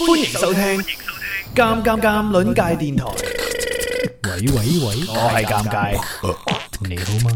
歡迎收聽《尷尷尷》鄰界電台。 喂， 我係尷尬， 你好嗎？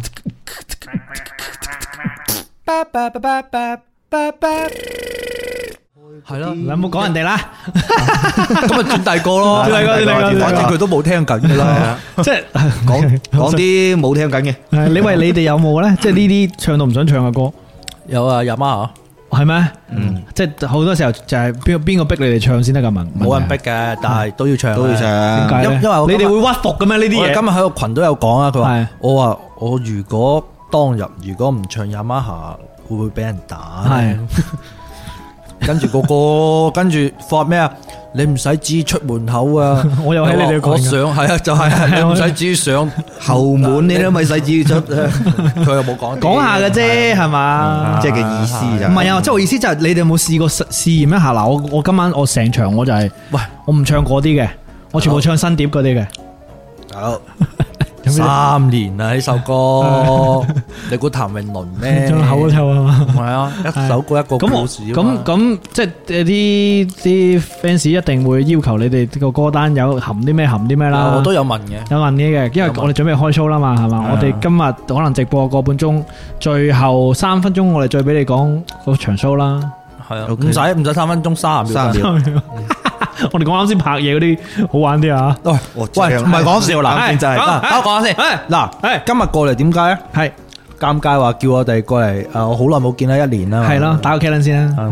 係咯， 你有冇講人哋啦？ 咁咪轉第個咯，反正佢都冇聽緊噶啦， 即係講啲冇聽緊嘅。 你哋有冇咧？即係呢啲唱到唔想唱嘅歌， 有啊，阿媽係咩？即係好多時候就係邊個逼你哋唱先得噶？ 冇人逼嘅，但係都要唱， 點解咧？因為你哋會屈服嘅咩？呢啲嘢今日喺個群都有講啊，佢話係我如果當日如果唔唱雅馬哈，會唔會俾人打？ 係。 跟住跟住發咩啊？你唔使指出門口啊！ 我又喺你哋講， 上係啊，就係你唔使指上後門，你都咪使指出。 佢又冇講下嘅啫，係嘛？ 即係嘅意思就唔係啊！即係我意思就係你哋有冇試過試驗一下嗱？我今晚我成場我就係喂， 我唔唱嗰啲嘅，我全部唱新碟嗰啲嘅。 好。3年啦呢首歌，你估譚詠麟咩？ 唱口都臭啊嘛！ 係啊，一首歌一個故事。 咁即係啲 fans 一定會要求你哋個歌單有含啲咩啦。 我都有問嘅， 有問嘅，因為我哋準備開 show 啦嘛，係嘛？我哋今日可能直播個半鐘，最後3分鐘我哋再俾你講嗰場 show 啦。 係啊，唔使3分鐘，30秒。 我哋講啱先拍嘢嗰啲好玩啲啊！ 喂，唔係講笑嗱，就係我講下先。嗱，今日過嚟點解咧？係尷尬話叫我哋過嚟，我好耐冇見啦，1年啦。 係咯，打個 K 輪先啦。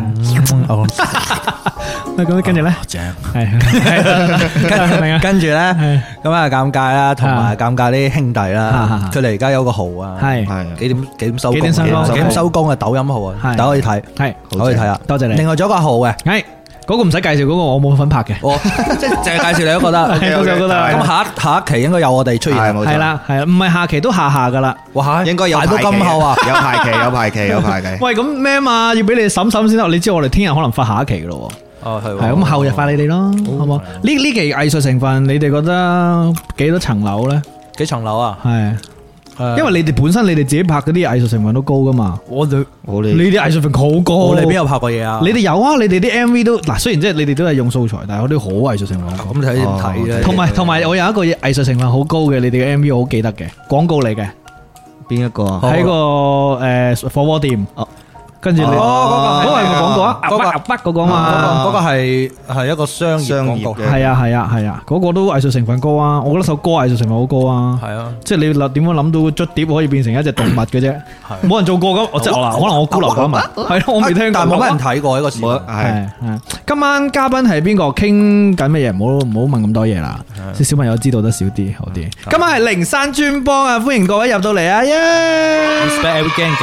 咁跟住咧， 正係跟住咧，咁啊尷尬啦，同埋尷尬啲兄弟啦，佢哋而家有個號啊，係幾點收工？幾點收工嘅抖音號啊，大家可以睇，係可以睇啊。多謝你。另外仲有個號嘅，係。 嗰個唔使介紹，嗰個我冇份拍嘅。 即係淨係介紹你都覺得，咁下一期應該有我哋出現。 係啦，唔係下期都下噶啦。 哇， 應該有排期。 排到咁後啊， 有排期。 喂，咁咩嘛？要俾你哋審先得。你知我哋聽日可能發下一期噶咯。 哦，係。 係咁後日發你哋咯，好唔好？呢期藝術成分，你哋覺得幾多層樓咧？ 幾層樓啊？ 係。因為你哋本身你哋自己拍嗰啲藝術成分都高噶嘛， 我哋你啲藝術成分好高， 我哋邊有拍過嘢啊？ 你哋有啊，你哋啲 MV 都嗱，雖然即係你哋都係用素材，但係我啲好藝術成分。 咁睇點睇咧？ 同埋我有一個藝術成分好高嘅，你哋嘅 MV 我好記得嘅，廣告嚟嘅。 邊一個？ 喺個火鍋店。跟住你嗰個係咪廣告啊？嗰個嘛， 嗰個係一個商業廣告。 係啊，嗰個都藝術成分高啊！我覺得首歌藝術成分好高啊。係啊，即係你點樣諗到捽碟可以變成一隻動物嘅啫？冇人做過咁，即係可能我孤陋寡聞。係咯，我未聽過， 但係冇乜人睇過呢個事。 係。今晚嘉賓係邊個？傾緊乜嘢？唔好問咁多嘢啦。即係小朋友知道得少啲好啲。今晚係靈山專幫啊！歡迎各位入到嚟啊！Respect every gang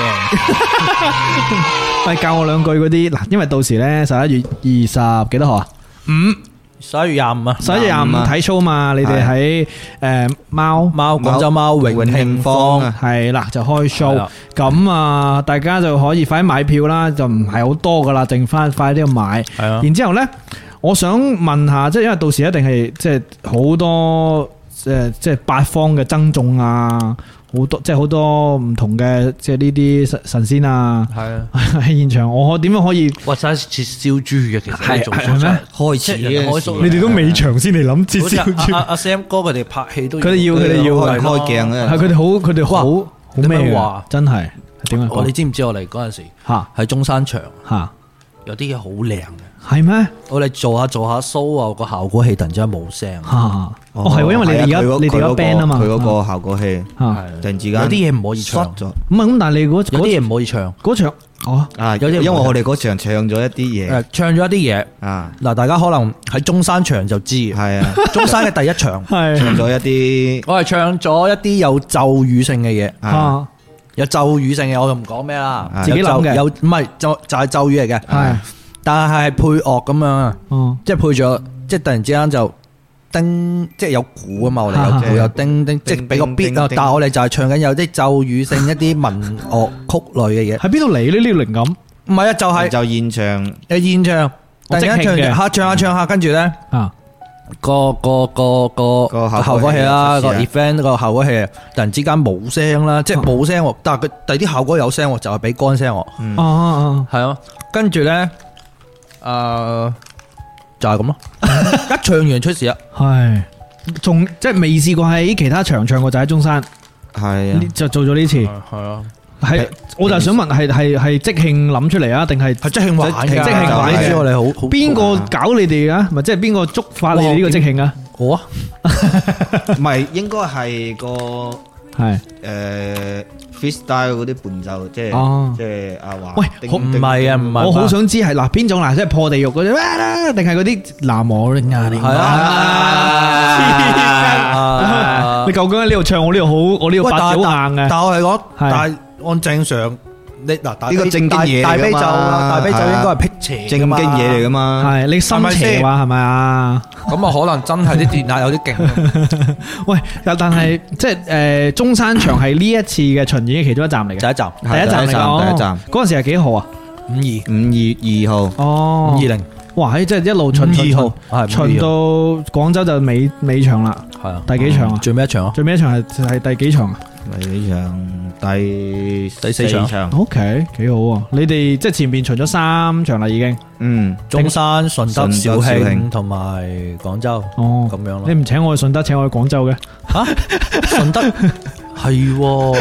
gang。喂，教我兩句嗰啲嗱，因為到時咧11月20幾多號啊？11 月25啊 ！11月25睇 show 嘛，你哋喺廣州貓永慶坊係啦，就開 show。咁啊，大家就可以快啲買票啦，就唔係好多噶啦，剩翻快啲去買。係啊。然之後咧，我想問下，即係因為到時一定係即係好多即係八方嘅爭眾啊。好多即係好多唔同嘅即係呢啲神仙啊，係啊喺現場，我點樣可以？ 哇！真係切燒豬嘅，其實係咩？ 開始你哋都尾場先嚟諗切燒豬。 阿 Sam 哥佢哋拍戲都佢哋要開鏡啊！ 係佢哋好咩話？真係點樣？ 你知唔知我嚟嗰陣時喺中山場有啲嘢好靚嘅。係咩？ 我哋做下 show 啊，個效果器突然之間冇聲。 係喎，因為你哋而家 band 啊嘛， 佢嗰個效果器突然之間有啲嘢唔可以唱咗。 唔係咁，但係你嗰啲嘢唔可以唱。 嗰場因為我哋嗰場唱咗一啲嘢， 唱咗一啲嘢啊。嗱，大家可能喺中山場就知，係啊，中山嘅第一場係唱咗一啲， 我係唱咗一啲有咒語性嘅嘢啊，有咒語性嘅，我就唔講咩啦， 自己諗嘅， 有唔係就係咒語嚟嘅，係。但係配樂咁樣啊，即係配咗，即係突然之間就叮，即係有鼓啊嘛，我哋有鼓有叮叮，即係俾個 beat 啊。但係我哋就係唱緊有啲咒語性一啲民樂曲類嘅嘢。喺邊度嚟呢？呢個靈感？唔係啊，就現場，現場突然間唱下，跟住咧個效果器啦，個 event 個效果器突然之間冇聲啦，即係冇聲，但係佢第啲效果有聲，就係俾乾聲。係啊，跟住咧。 就係咁咯，一唱完出事啊， 係，仲即係未試過喺其他場唱過，就喺中山， 係啊， 就做咗呢次， 係啊， 係，我就想問係即興諗出嚟啊，定係即興玩嘅？ 即興玩嘅， 我哋好邊個搞你哋啊？咪即係邊個觸發你哋呢個即興啊？ 我啊， 唔係應該係個係 freestyle 嗰啲伴奏，即係阿華。 喂， 唔係啊，唔係， 我好想知係嗱邊種嗱，即係破地獄嗰啲，定係嗰啲南無定啊？係啊，你究竟喺呢度唱，我呢度好，我呢度八字好硬嘅。 但我係講，但係按正常。你嗱， 呢個正經嘢大悲咒，大悲咒應該係辟邪正經嘢嚟噶嘛？ 係你心邪話係咪啊？ 咁啊，可能真係啲電壓有啲勁。 喂，但係即係中山場係呢一次嘅巡演嘅其中一站嚟嘅， 第一站嚟㗎。 第一站嗰陣時係幾號啊 ？5/2 號。 哦 ，5/20。哇， 即係一路巡巡到廣州就尾場啦。 係啊， 第幾場啊？ 最尾一場啊？ 最尾一場係第幾場啊？ 第幾場？第四場。 OK， 幾好啊！你哋即係前邊巡咗3場啦，已經。 中山、順德、肇慶同埋廣州。哦，咁樣咯。 你唔請我去順德，請我去廣州嘅？ 吓，順德係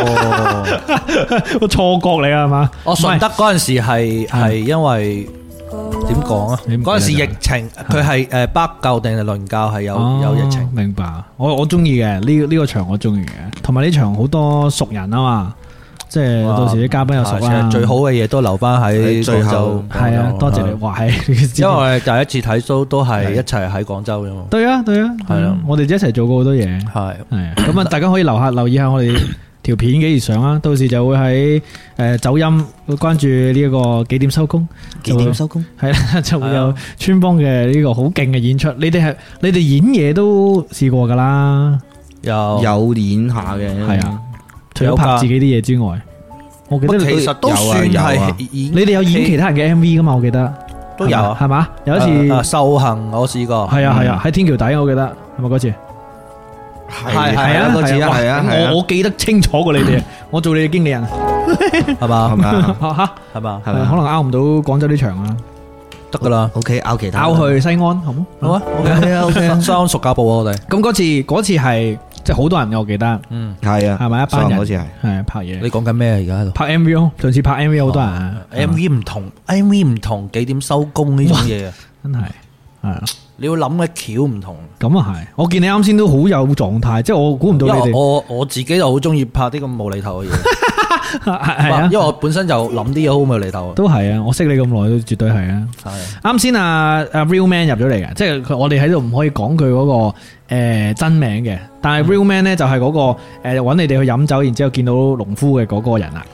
個錯覺嚟啊，係嘛？ 我順德嗰陣時係因為點講啊？嗰陣時疫情，佢係北教定係倫教係有疫情。 明白，我中意嘅呢個場我中意嘅，同埋呢場好多熟人啊嘛，即係到時啲嘉賓又熟啦。 最好嘅嘢都留翻喺廣州。係啊， 多謝你話係。 因為第一次睇 show 都係一齊喺廣州嘅嘛。 對啊，係啊，我哋一齊做過好多嘢。係咁啊，大家可以留意下我哋條片幾時上啊？到時就會喺走音關注呢一個幾點收工？幾點收工？係啦，就會有村幫嘅呢個好勁嘅演出。你哋演嘢都試過噶啦， 有演下嘅， 係啊。除咗拍自己啲嘢之外，我記得其實都算係。 你哋有演其他人嘅 MV 噶嘛？我記得都有， 係嘛？有一次受行我試過， 係啊，喺天橋底我記得係咪嗰次？係啊，嗰次係啊，我記得清楚過你哋，我做你嘅經理人， 係嘛？ 係嘛？可能拗唔到廣州啲場啊， 得噶啦。 OK，拗其他， 拗去西安，好冇？好啊 ，OK， 西安熟家寶啊，我哋。 咁嗰次係即係好多人嘅，我記得。 係啊， 係咪一班人？ 嗰次係拍嘢。 你講緊咩啊？而家喺度拍 MV 咯，上次拍 MV 好多人啊。 MV 唔同幾點收工呢種嘢啊， 真係係啊。 你要諗嘅橋唔同， 咁啊係，我見你啱先都好有狀態，即係我估唔到你哋。 我自己就好中意拍啲咁無厘頭嘅嘢， 係啊， 因為我本身就諗啲嘢好無厘頭。 都係啊，我識你咁耐都絕對係啊。係啱先阿 Real Man 入咗嚟嘅，即係我哋喺度唔可以講佢嗰個真名嘅，但係 Real Man 咧就係嗰個揾你哋去飲酒，然之後見到農夫嘅嗰個人啊。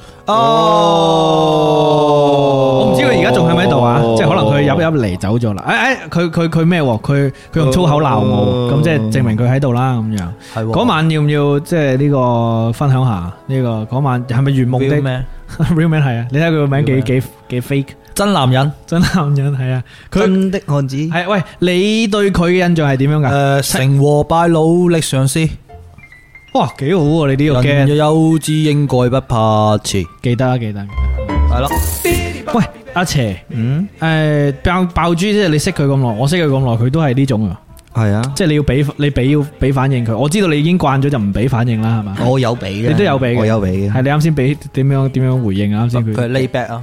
我唔知佢而家仲喺唔喺度啊？即係可能佢入嚟走咗啦。佢咩？佢用粗口鬧我，咁即係證明佢喺度啦。咁樣嗰晚要唔要即係呢個分享下呢個嗰晚係咪圓夢的 Real Man 係啊？你睇佢個名幾 fake， 真男人係啊！ 真的漢子係。喂，你對佢嘅印象係點樣噶？ 成和敗努力嘗試。 哇，幾好喎！你呢個人若有志應該不怕遲， 記得。係咯。喂，阿邪，爆珠即係你識佢咁耐，我識佢咁耐，佢都係呢種啊。係啊，即係你要俾反應佢。我知道你已經慣咗就唔俾反應啦，係嘛？ 我有俾嘅， 你都有俾嘅， 我有俾嘅。係你啱先俾點樣回應啊？啱先佢 lay back 啊。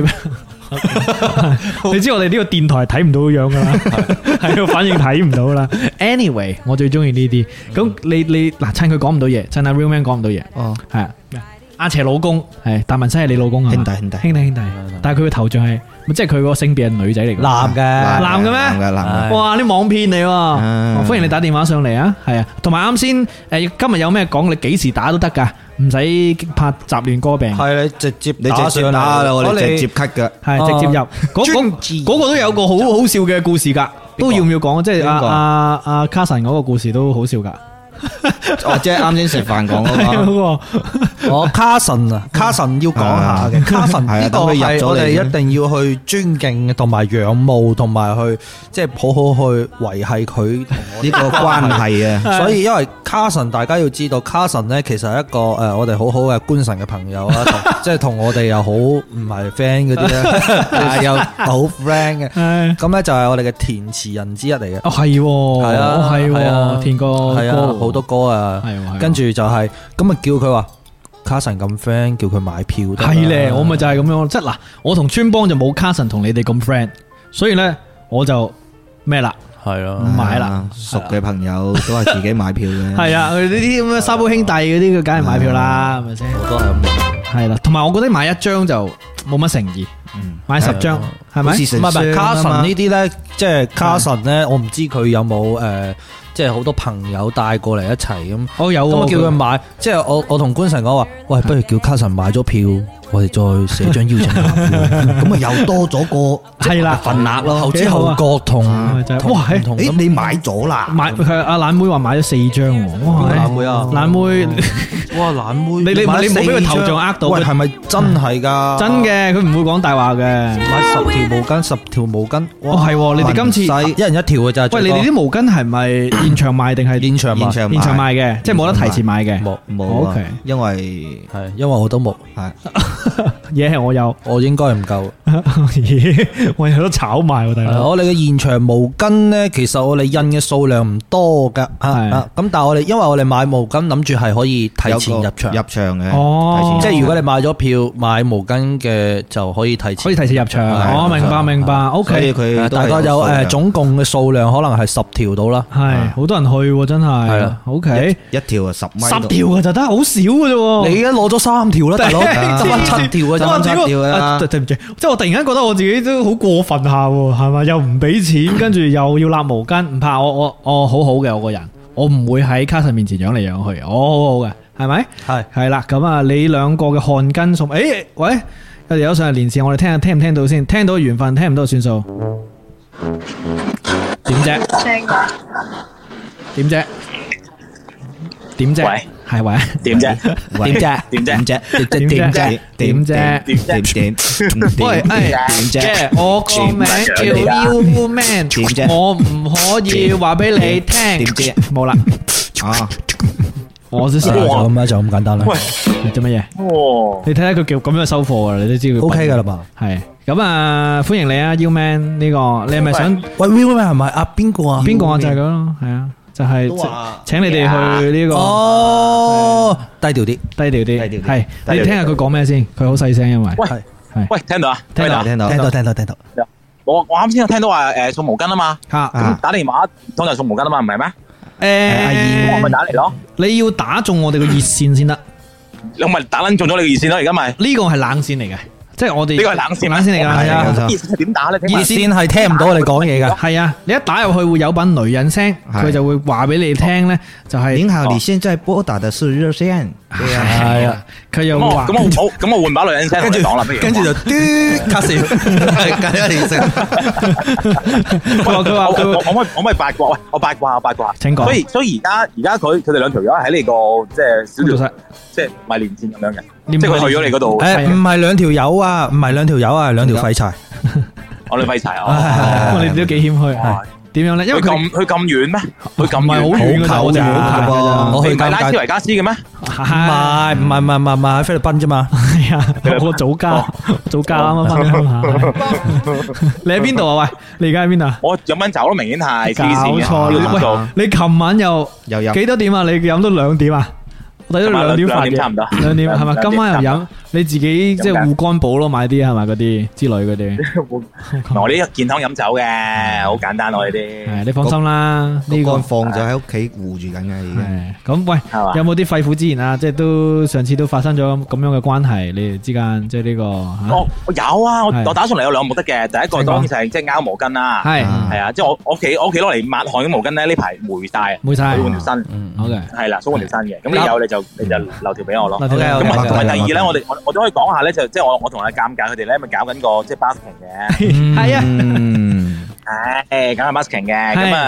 你知我哋呢個電台睇唔到樣噶啦，係個反應睇唔到啦。Anyway， 我最中意呢啲。咁你嗱，趁佢講唔到嘢，趁阿 Real Man 講唔到嘢，係啊。阿邪老公係達文西係你老公啊？兄弟。但係佢個頭像係，即係佢個性別係女仔嚟嘅。男嘅咩？哇！啲網騙嚟喎。歡迎你打電話上嚟啊。係啊，同埋啱先今日有咩講，你幾時打都得噶，唔使怕雜亂歌病。係你直接打啦，我哋直接 cut 噶，係直接入。嗰個都有個好好笑嘅故事噶，都要唔要講？即係阿卡神嗰個故事都好笑噶。 哦，即係啱先食飯講嗰個。 我卡神要講下嘅，卡神呢個係我哋一定要去尊敬同埋仰慕，同埋去即係好好去維繫佢同我呢個關係啊。所以因為卡神，大家要知道，卡神咧其實係一個我哋好好嘅觀神嘅朋友啦，即係同我哋又好唔係 friend 嗰啲咧，又好 friend 嘅。咁咧就係我哋嘅填詞人之一嚟嘅。 哦，係啊，填過係啊，好多歌啊。跟住就係咁啊，叫佢話卡神咁 friend，叫佢買票得。 係咧，我咪就係咁樣，即係嗱，我同村幫就冇卡神同你哋咁 friend，所以咧我就咩啦， 係咯， 唔買啦。 熟嘅朋友都係自己買票嘅。 係啊，佢呢啲咁嘅沙煲兄弟嗰啲，佢梗係買票啦，係咪先？ 我都係咁。 係啦，同埋我覺得買一張就冇乜誠意，買10張係咪？ 唔係卡神呢啲咧，即係卡神咧，我唔知佢有冇即係好多朋友帶過嚟一齊咁。 我有， 咁我叫佢買，即係我同官神講話，喂，不如叫卡神買咗票，我哋再寫張邀請函，咁啊又多咗個係啦份額咯，後知後覺同哇， 誒你買咗啦？ 買佢阿懶妹話買咗4張喎，哇！ 懶妹啊， 懶妹， 哇懶妹， 你冇俾佢頭像呃到？ 喂，係咪真係㗎？ 真嘅，佢唔會講大話嘅。 買10條毛巾， 哦係，你哋今次一人一條嘅咋？ 喂，你哋啲毛巾係咪現場賣定係現場賣嘅？即係冇得提前買嘅。 冇 ，OK， 因為我都冇， 嘢係我有， 我應該唔夠。 我有得炒賣喎，大佬。 我哋嘅現場毛巾咧，其實我哋印嘅數量唔多噶，咁但係我哋因為我哋買毛巾諗住係可以提前入場嘅， 哦， 即係如果你買咗票買毛巾嘅就可以提前入場。我明白，OK。 佢大概有總共嘅數量可能係10條到啦， 係好多人去真係。係啦，OK， 一條啊10米 ，10條嘅就得，好少嘅啫。 你而家攞咗3條啦，大佬，得翻7條嘅，得翻7條啦。 對唔住，即係我突然間覺得我自己都好過分下，係咪？又唔俾錢，跟住又要立毛巾，唔怕，我好好嘅，我個人，我唔會喺卡神面前養嚟養去，我好好嘅，係咪？係啦，咁啊，你兩個嘅汗巾送，喂，有條友上嚟連線，我哋聽唔聽到先？聽到緣分，聽唔到算數。點啫？點啫？點啫？喂，係喂？點啫？點啫？點啫？點啫？點啫？喂，點啫？我個名叫 Uman， 點啫？我唔可以話俾你聽。點啫？冇啦。啊，我先咁樣就咁簡單啦。 喂，你做乜嘢？你睇下佢叫咁樣收貨噶啦，你都知佢 OK 噶啦嘛。係咁啊，歡迎你啊 ，Uman 呢個，你係咪想？ 喂 ，Uman 係咪啊？邊個啊？ 邊個啊？就係咁咯，係啊。就係請你哋去呢個低調啲， 係你聽下佢講咩先，佢好細聲，因為喂聽到啊， 聽到， 我啱先有聽到話送毛巾啊嘛，咁打電話通常送毛巾啊嘛，唔係咩？我咪打嚟咯， 你要打中我哋個熱線先得， 你咪打撚中咗你個熱線咯，而家咪呢個係冷線嚟嘅。即係我哋呢個係冷線嚟㗎，係啊。 熱線係點打咧？ 熱線係聽唔到我哋講嘢㗎。 係啊，你一打入去會有班女人聲，佢就會話俾你聽咧，就係您好，你現在撥打的是熱線。 係啊，佢又話咁我換把女人聲，跟住講啦，不如跟住就嘟卡線，係緊一連聲。 佢話我咪八卦，喂，我八卦。 請講。 所以而家佢哋兩條友喺你個即係小條，即係賣連線咁樣嘅，即係佢去咗你嗰度。 唔係兩條友啊，兩條廢柴。 我哋廢柴啊！ 你哋都幾謙虛。點樣咧？因為佢咁遠咩？佢咁唔係好遠㗎，我哋我去唔係拉斯維加斯嘅咩？ 唔係喺菲律賓啫嘛。 係啊，我早家啱啱翻鄉下。你喺邊度啊？喂，你而家喺邊啊？ 我飲緊酒咯，明顯係搞錯。喂，你琴晚又幾多點啊？你飲到2點啊？我睇到2點飯嘅， 差唔多 2點係咪？今晚又飲，你自己即係護肝寶咯，買啲係咪嗰啲之類嗰啲？ 我呢個健康飲酒嘅，好簡單我呢啲。 係你放心啦，呢個放咗喺屋企護住緊嘅已經。 咁喂，有冇啲肺腑之言啊？即係都上次都發生咗咁樣嘅關係，你哋之間即係呢個。 我有啊，我打上嚟有2個目的嘅，第一個當然就係即係拗毛巾啦。係啊，即係我屋企攞嚟抹汗嘅毛巾咧，呢排霉晒，要換條新。好嘅，係啦，想換條新嘅。咁你有你就留條俾我咯。咁同埋第二咧，我都可以講下咧，就即係我同阿尷尬佢哋咧，咪搞緊個即係 busking 嘅。 係啊， 搞緊 busking 嘅。咁啊，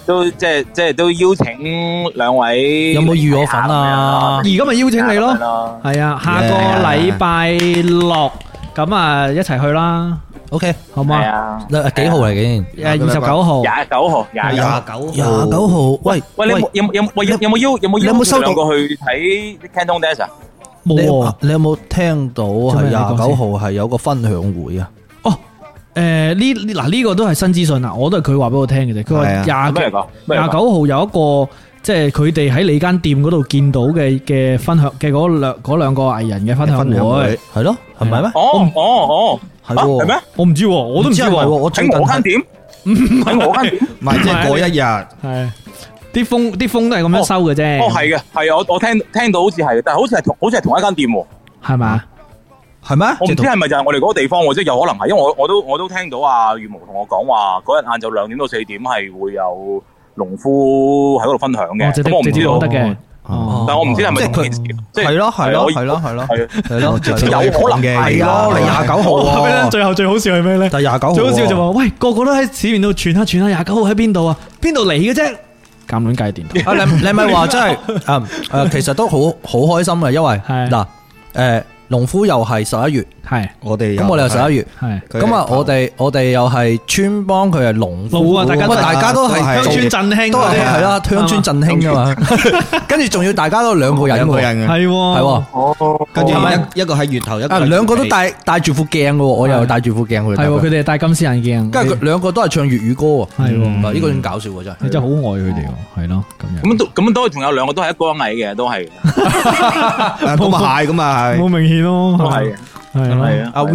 都即係都邀請兩位， 有冇預我份啊？ 而家咪邀請你咯，係啊，下個禮拜六咁啊一齊去啦。OK， 好嘛？幾號嚟嘅？29號。29號。喂， 你有冇邀收兩個去睇 Canton Dance 啊？ 冇啊！ 你有冇聽到係29號係有個分享會啊？ 哦，呢個都係新資訊啊！我都係佢話俾我聽嘅啫。佢話29號有一個即係佢哋喺你間店嗰度見到嘅分享嘅嗰兩個藝人嘅分享會，係咯，係咪咩？ 哦。係咩？ 我唔知，我都唔知喎。 我喺我間店，喺我間店， 唔係即係嗰一日， 係啲風都係咁樣收嘅啫。 哦，係嘅，係啊，我聽到好似係，但係好似係同一間店，係咪？ 係咩？ 我唔知係咪就係我哋嗰個地方，即係有可能係，因為我都聽到阿羽毛同我講話，嗰日晏晝2點到4點係會有農夫喺嗰度分享嘅，咁我唔知道得嘅。但係我唔知係咪同件事，即係咯，有可能嘅，係咯，你29號， 最後最好笑係咩咧？ 但係29號， 最好笑就話，喂，個個都喺市面度傳下29號喺邊度啊？邊度嚟嘅啫？鑑論界電台， 你咪話真係其實都好開心嘅，因為嗱農夫又係11月，係我哋咁我哋又11月，係咁啊！我哋又係村幫，佢係農夫啊！大家都係鄉村振興， 都係啦，鄉村振興噶嘛。跟住仲要大家都兩個人嘅， 係哦。跟住一個喺源頭，一個兩個都戴住副鏡嘅，我又戴住副鏡。 係佢哋戴金絲眼鏡， 跟住兩個都係唱粵語歌。係呢個點搞笑真係， 你真係好愛佢哋，係咯咁都仲有兩個都係一哥一矮嘅，都係咁啊係咁啊係， 好明顯咯， 係。係啊， 阿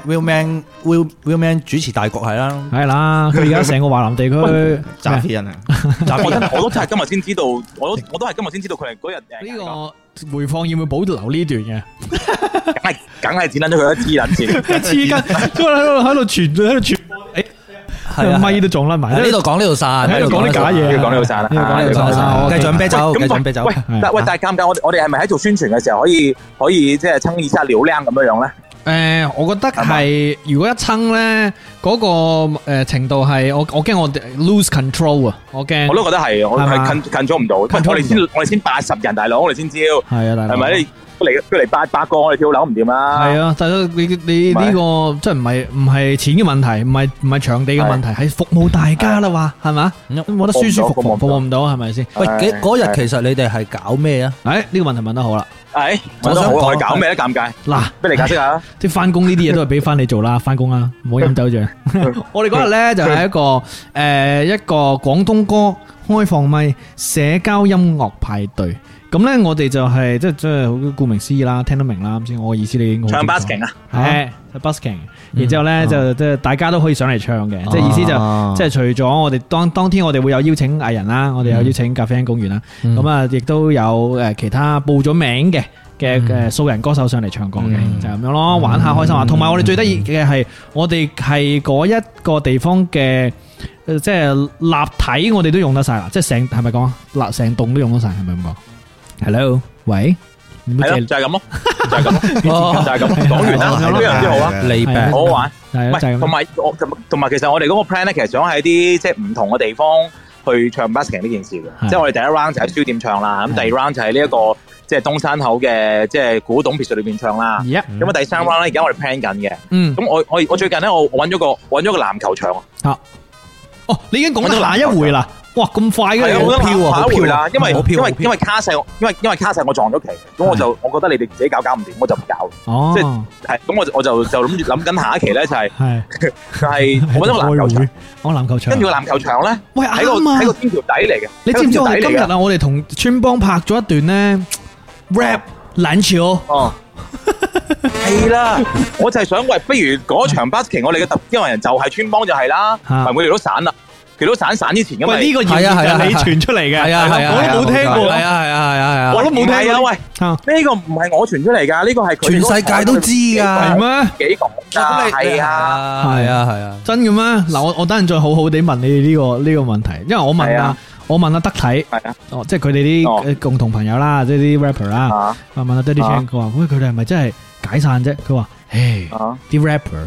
Will Man 主持大局係啦， 係啦，佢而家成個華南地區詐騙人啊！ 我都真係今日先知道，我都係今日先知道佢係嗰日呢個回放要唔要保留呢段嘅？ 梗係剪撚咗佢一黐撚線， 黐筋，喺度傳，誒，咪都撞甩埋， 呢度講呢度散， 喺度講啲假嘢， 講呢度散啦， 繼續飲啤酒，繼續飲啤酒。 喂，但係尷尬，我哋係咪喺做宣傳嘅時候可以即係撐一下流量咁樣咧？ 我覺得係，如果一撐咧，嗰個程度係我驚我 lose control 啊！我驚， 我都覺得係，我係近咗唔到，我哋先80人大佬，我哋先招， 係啊，大佬， 係咪？佢嚟800個，我哋跳樓唔掂啦。係啊，但係你呢個即係唔係錢嘅問題，唔係場地嘅問題，係服務大家啦，話係嘛？冇得舒舒服服服務唔到，係咪先？ 喂，嗰日其實你哋係搞咩啊？ 呢個問題問得好啦。 我想講搞咩咧？尷尬。嗱，俾你解釋下。 即係翻工呢啲嘢都係俾翻你做啦，翻工啦，唔好飲酒住。我哋嗰日咧就係一個廣東歌開放咪社交音樂派對。咁咧，我哋就係即係好顧名思義啦，聽得明啦。啱先我嘅意思你唱 busking 啊， 係 busking。然之後咧就即係大家都可以上嚟唱嘅，即係意思就即係除咗我哋當天我哋會有邀請藝人啦，我哋有邀請咖啡因公園啦，咁啊亦都有其他報咗名嘅素人歌手上嚟唱歌嘅，就係咁樣咯，玩下開心下。同埋我哋最得意嘅係，我哋係嗰一個地方嘅即係立體，我哋都用得晒啦，即係係咪講成棟都用得晒，係咪咁講？Hello，喂， 係咯，就係咁咯，就係咁咯，就係咁。講完啦，非常之好啊，利病，好好玩。係，同埋，其實我哋嗰個 plan 咧，其實想喺啲即係唔同嘅地方去唱 busking 呢件事嘅。即係我哋第一 round 就喺書店唱啦，咁第二 round 就喺呢一個即係東山口嘅即係古董別墅裏邊唱啦。咁啊，第三 round 咧，而家我哋 plan 緊嘅。咁我最近咧，我揾咗個籃球場啊。 哦，你已經講到下一回啦。哇，咁快嘅， 好飄啊！好飄啦，因為卡細，因為卡細我撞咗期，咁我覺得你哋自己搞唔掂，我就唔搞。哦，即係咁我就諗緊下一期咧就係我揾咗個籃球場， 籃球場，跟住個籃球場咧， 喂喺個天橋底嚟嘅。 你知唔知我哋今日啊，我哋同村幫拍咗一段咧 rap 籃球。哦， 係啦，我就係想喂，不如嗰場 busking 我哋嘅特邀人就係村幫就係啦，咪我哋都散啦。佢都散之前咁咪呢個謠言係你傳出嚟嘅，我都冇聽過， 係啊， 我都冇聽啊！喂，呢個唔係我傳出嚟噶，呢個係全世界都知噶， 係咩？ 幾講噶？係啊， 真嘅咩？嗱，我等陣再好好地問你呢個問題，因為我問阿德體，即係佢哋啲共同朋友啦，即係啲 rapper 啦，問阿 Daddy Chan，佢話喂，佢哋係咪真係解散啫？佢話，啲 rapper。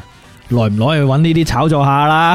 耐唔耐去揾呢啲炒作下啦。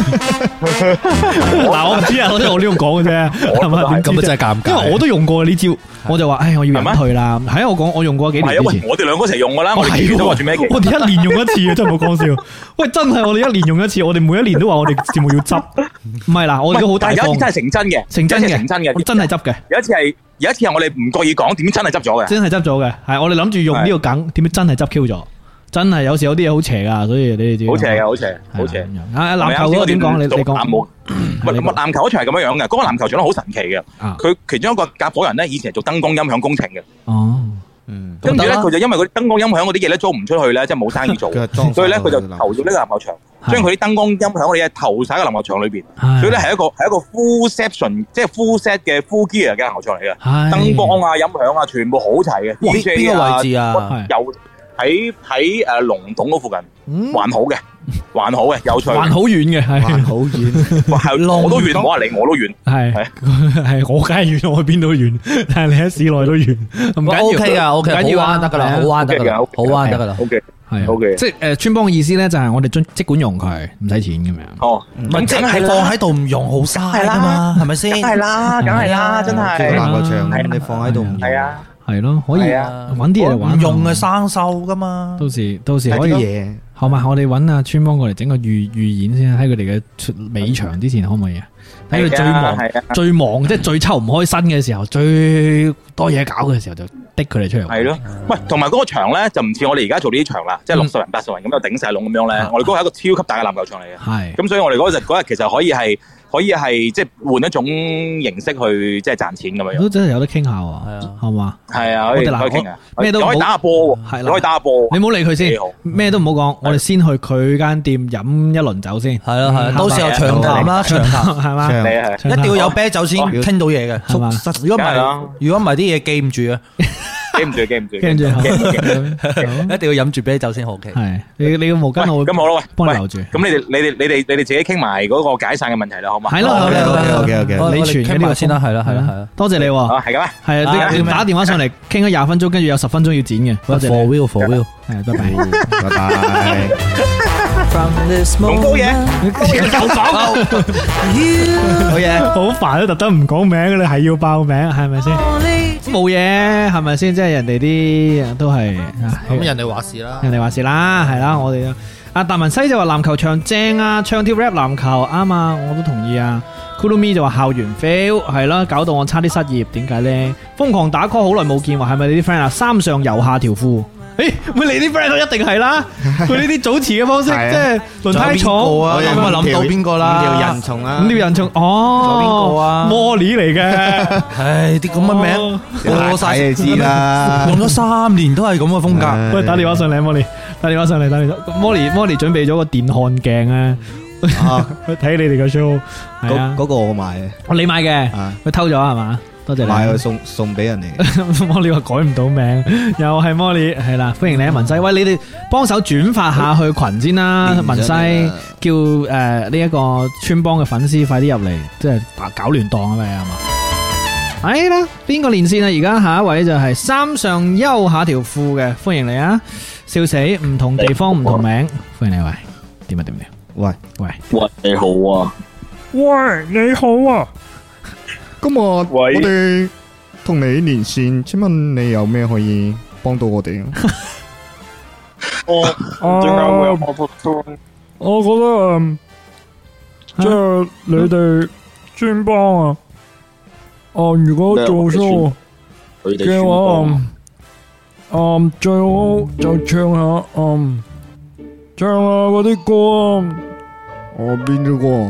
嗱，我唔知啊，我呢度講嘅啫，係咪？ 咁真係尷尬， 因為我都用過呢招，我就話，我要隱退啦。係啊，我講我用過幾年之前， 我哋兩個一齊用噶啦，我哋都話做咩嘅？ 我哋一年用一次啊，真係冇講笑。喂，真係我哋一年用一次，我哋每一年都話我哋節目要執。唔係啦，我哋都好大方。 有一次真係成真嘅， 成真嘅，真係執嘅。 有一次係我哋唔覺意講，點真係執咗嘅。 真係執咗嘅，係我哋諗住用呢個梗，點知真係執 Q 咗。真係有時有啲嘢好邪噶，所以你哋知。 好邪嘅，好邪，好邪。 籃球嗰個點講？你講。 籃球嗰場係咁樣樣嘅，嗰個籃球場都好神奇嘅。佢其中一個夾夥人咧，以前係做燈光音響工程嘅。 哦。 跟住咧，佢就因為嗰啲燈光音響嗰啲嘢咧租唔出去咧，即係冇生意做，所以咧佢就投咗呢個籃球場，將佢啲燈光音響嗰啲嘢投晒喺個籃球場裏邊。所以咧係一個 full section， 即係 full set 嘅 full gear 嘅籃球場嚟嘅，燈光啊、音響啊，全部好齊嘅。 邊個位置啊？ 有喺龍洞嗰附近，還好嘅，有趣， 還好遠嘅，係好遠，我都遠，唔好話你，我都遠， 係我梗係遠，我去邊都遠，但係你喺市內都遠，唔緊要 ，OK 噶，OK，好玩得噶啦，好玩得噶啦，好玩得噶啦，OK。 係 OK，即係穿幫嘅意思咧，就係我哋即管用佢，唔使錢咁樣。 哦，咁即係放喺度唔用好嘥噶嘛，係咪先？ 梗係啦，真係。 籃球場你放喺度唔用。係啊。 係咯，可以揾啲嘢嚟玩。 唔用嘅生鏽噶嘛。到時可以嘢。好嘛，我哋揾阿川幫過嚟整個預演先，喺佢哋嘅尾場之前可唔可以啊？喺佢最忙，即係最抽唔開身嘅時候，最多嘢搞嘅時候就的佢哋出嚟。 係咯，喂，同埋嗰個場咧就唔似我哋而家做呢啲場啦，即係60人、80人咁就頂晒籠咁樣咧。我哋嗰個係一個超級大嘅籃球場嚟嘅。係。咁所以我哋嗰日其實可以係即係換一種形式去即係賺錢咁樣。 都真係有得傾下喎，係啊，係嘛？ 係啊，可以傾啊， 咩都可以打下波喎，係啦，可以打下波。 你唔好理佢先，咩都唔好講，我哋先去佢間店飲一輪酒先。係啦，係，到時候長談啦，長談係嘛？一定要有啤酒先傾到嘢嘅，係嘛？如果唔係啲嘢記唔住啊。記唔住，一定要飲住啤酒先好嘅。係你個毛巾我咁好啦，喂， 幫你留住。 咁你哋自己傾埋嗰個解散嘅問題啦，好嘛？ 係咯，OK，你傳嘅呢個先啦，係啦，多謝你。係嘅咩？ 係啊，你打電話上嚟傾咗20分鐘，跟住有10分鐘要剪嘅。多謝。For real，係，拜拜，拜拜。 咁高嘢， 好嘢，好煩都特登唔講名，你係要爆名，係咪先？冇嘢，係咪先？即係人哋啲都係咁，人哋話事啦， 係啦，我哋阿達文西就話籃球場正啊，唱跳 rap 籃球啱啊，我都同意啊。Kurumi 就話校園 fail 係啦，搞到我差啲失業，點解咧？瘋狂打 call 好耐冇見，話係咪你啲 friend 啊？三上游下條褲。誒，咪你啲 friend 都一定係啦，佢呢啲組詞嘅方式，即係輪胎廠， 我諗到邊個啦？ 條人蟲啊， 五條人蟲，哦，邊個啊？Molly 嚟嘅， 唉，啲咁嘅名， 過晒你知啦， 用咗3年都係咁嘅風格。 喂，打電話上嚟 ，Molly， 打電話上嚟，Molly 準備咗個電看鏡啊，去睇你哋嘅 show，係啊， 嗰個我買嘅， 你買嘅，佢偷咗係嘛？多謝你買去送俾人哋。 Molly 話改唔到名，又係 Molly， 係啦，歡迎你啊文西。喂，你哋幫手轉發下去群先啦，文西叫呢一個村幫嘅粉絲快啲入嚟，即係搞亂檔啊嘛，係嘛？係啦，邊個連線啊？而家下一位就係三上悠下條褲嘅，歡迎你啊！笑死，唔同地方唔同名，歡迎你喂，點啊點？ 喂， 你好啊， 喂，你好啊。今日我哋同你連線，請問你有咩可以幫到我哋啊？我覺得即係你哋專幫啊，如果做 show 嘅話，最好就唱下嗰啲歌啊。邊啲歌？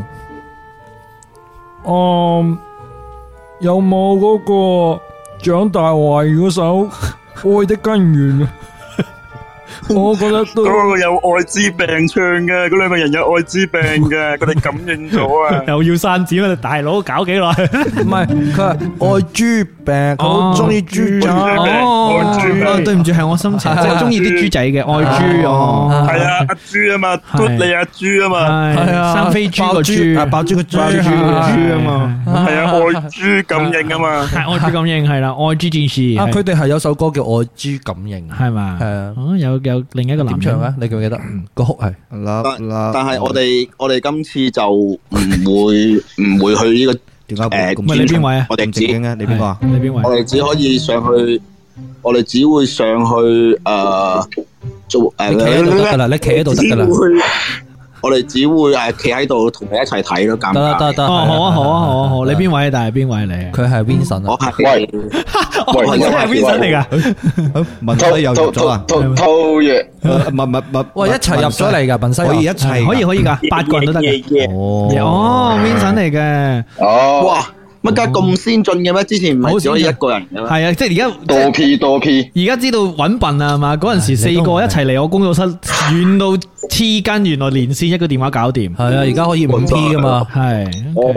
有冇嗰個蔣大為嗰首《愛的根源》啊？我覺得都嗰個有愛滋病唱嘅，嗰兩個人有愛滋病嘅，佢哋感應咗啊！ 又要刪剪啊！大佬搞幾耐？ 唔係，佢係愛豬病，佢好中意豬仔。 哦，對唔住，係我心情，即係中意啲豬仔嘅愛豬哦。 係啊，阿豬啊嘛，嘟你阿豬啊嘛， 係啊，生飛豬個豬， 爆豬個豬啊嘛，係啊，愛豬感應啊嘛， 係愛豬感應係啦，愛豬戰士。 佢哋係有首歌叫《愛豬感應》， 係嘛？係啊，有有另一個男唱啊？你記唔記得？個曲係但係我哋今次就唔會去呢個點解？咁你邊位啊？ 我哋只你邊個啊？你邊位？ 我哋只可以上去，我哋只會上去做你企喺度得噶啦，你企喺度得噶啦。 我哋只會企喺度同你一齊睇咯，尷尬。 得，好，你邊位？但係邊位嚟？ 佢係 Vincent 啊。 我係我係 Vincent 嚟噶。 文西又入咗啊？ 套嘢， 喂，一齊入咗嚟噶，文西可以一齊， 可以噶，8個人都得嘅。哦，Vincent 嚟嘅。 哦，哇！乜家咁先進嘅咩？之前唔係只可以一個人嘅咩？ 係啊，即係而家多 P。 而家知道揾笨啊嘛？嗰陣時4個一齊嚟我工作室，遠到黐筋，原來連線一個電話搞掂。 係啊，而家可以5P 噶嘛？係。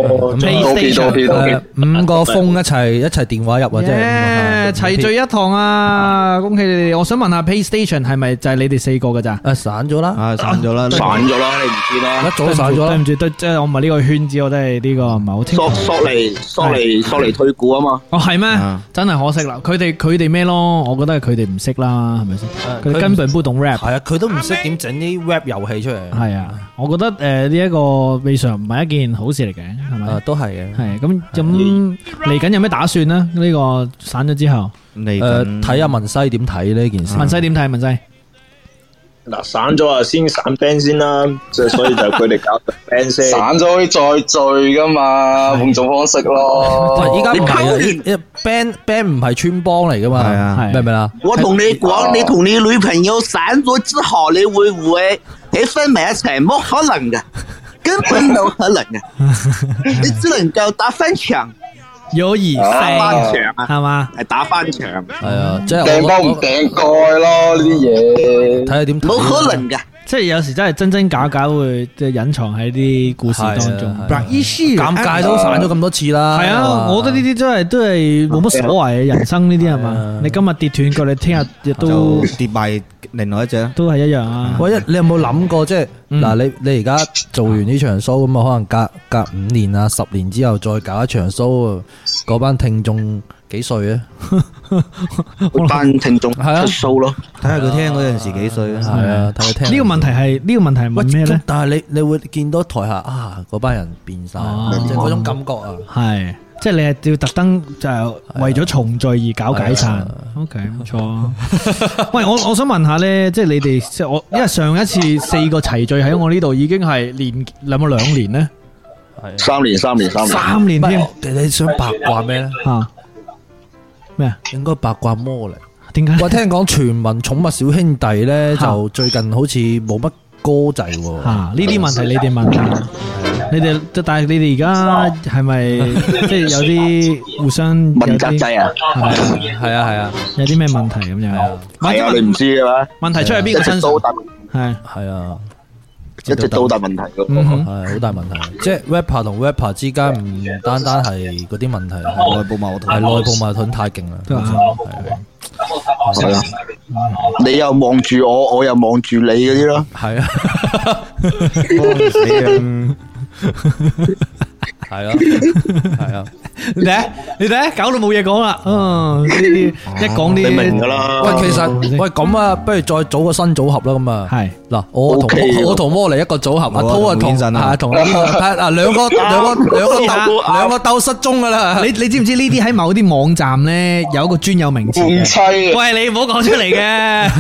PlayStation 5個風一齊電話入啊！即係齊聚一堂啊！恭喜你哋！我想問下 PlayStation 係咪就係你哋4個噶咋？ 散咗啦， 散咗啦，你唔知啦， 一早散咗啦。 對唔住，即係我唔係呢個圈子，我都係呢個唔係好清楚。 索尼退股啊嘛。 哦，係咩？真係可惜啦！佢哋咩咯？我覺得係佢哋唔識啦，係咪先？佢哋根本不懂 rap。 係啊，佢都唔識點整啲 rap 遊戲出嚟。 係啊，我覺得呢一個未嘗唔係一件好事嚟嘅，係咪？ 都係嘅。 係咁嚟緊有咩打算呢？呢個散咗之後， 睇下文西點睇呢件事。 文西點睇？文西嗱，散咗啊，先散 band 先啦，即係所以就佢哋搞 band 先。 散咗可以再聚噶嘛，換種方式咯。 依家唔係啊 ，band 唔係穿幫嚟噶嘛，係啊，明唔明啊？ 我同你講，你同你女朋友散咗之後，你會唔會喺分埋一齊？冇可能嘅，根本冇可能嘅，你只能夠打翻場。 友誼賽係嘛？ 係打翻場， 係啊，即係掟波唔掟蓋咯，呢啲嘢睇下點。 冇可能嘅， 即係有時真係真真假假會即係隱藏喺啲故事當中。 尷尬都散咗咁多次啦。 係啊，我覺得呢啲真係都係冇乜所謂嘅，人生呢啲係嘛？你今日跌斷腳，你聽日亦都跌埋另外一隻， 都係一樣啊。 喂，你有冇諗過即係嗱？你而家做完呢場 show 咁啊，可能隔5年啊、10年之後再搞一場 show，嗰班聽眾幾歲啊？ 嗰班聽眾出 show 咯， 睇下佢聽嗰陣時幾歲啊？係啊，睇佢聽。 呢個問題係問咩咧？ 但係你會見到台下啊，嗰班人變晒，即係嗰種感覺啊。 係，即係你係要特登就係為咗重聚而搞解散。OK，冇錯。喂，我想問下咧，即係你哋即係因為上一次4個齊聚喺我呢度已經係有冇2年咧？ 係3年添。 你想八卦咩咧？ 咩啊？ 應該八卦魔力。 點解？ 我聽講全民寵物小兄弟咧，就最近好似冇乜歌仔喎。呢啲問題你哋問啊。你哋但係你哋而家係咪即係有啲互相問責制啊？ 係啊， 有啲咩問題咁樣？ 係啊，你唔知嘅咩？ 問題出喺邊個身上？ 係啊。 一直都好大問題嘅， 係好大問題。即係 rapper 同 rapper 之間唔單單係嗰啲問題，係內部矛盾，係內部矛盾太勁啦。 係啊，你又望住我，我又望住你嗰啲咯。 係啊，係啊， 你睇，搞到冇嘢講啦。呢啲一講啲， 你明噶啦。 喂，其實咁啊，不如再組個新組合啦。咁啊，係嗱，我同摩尼一個組合，阿濤啊同兩個鬥失蹤噶啦。你知唔知呢啲喺某啲網站咧有一個專有名詞嘅？喂，你唔好講出嚟嘅，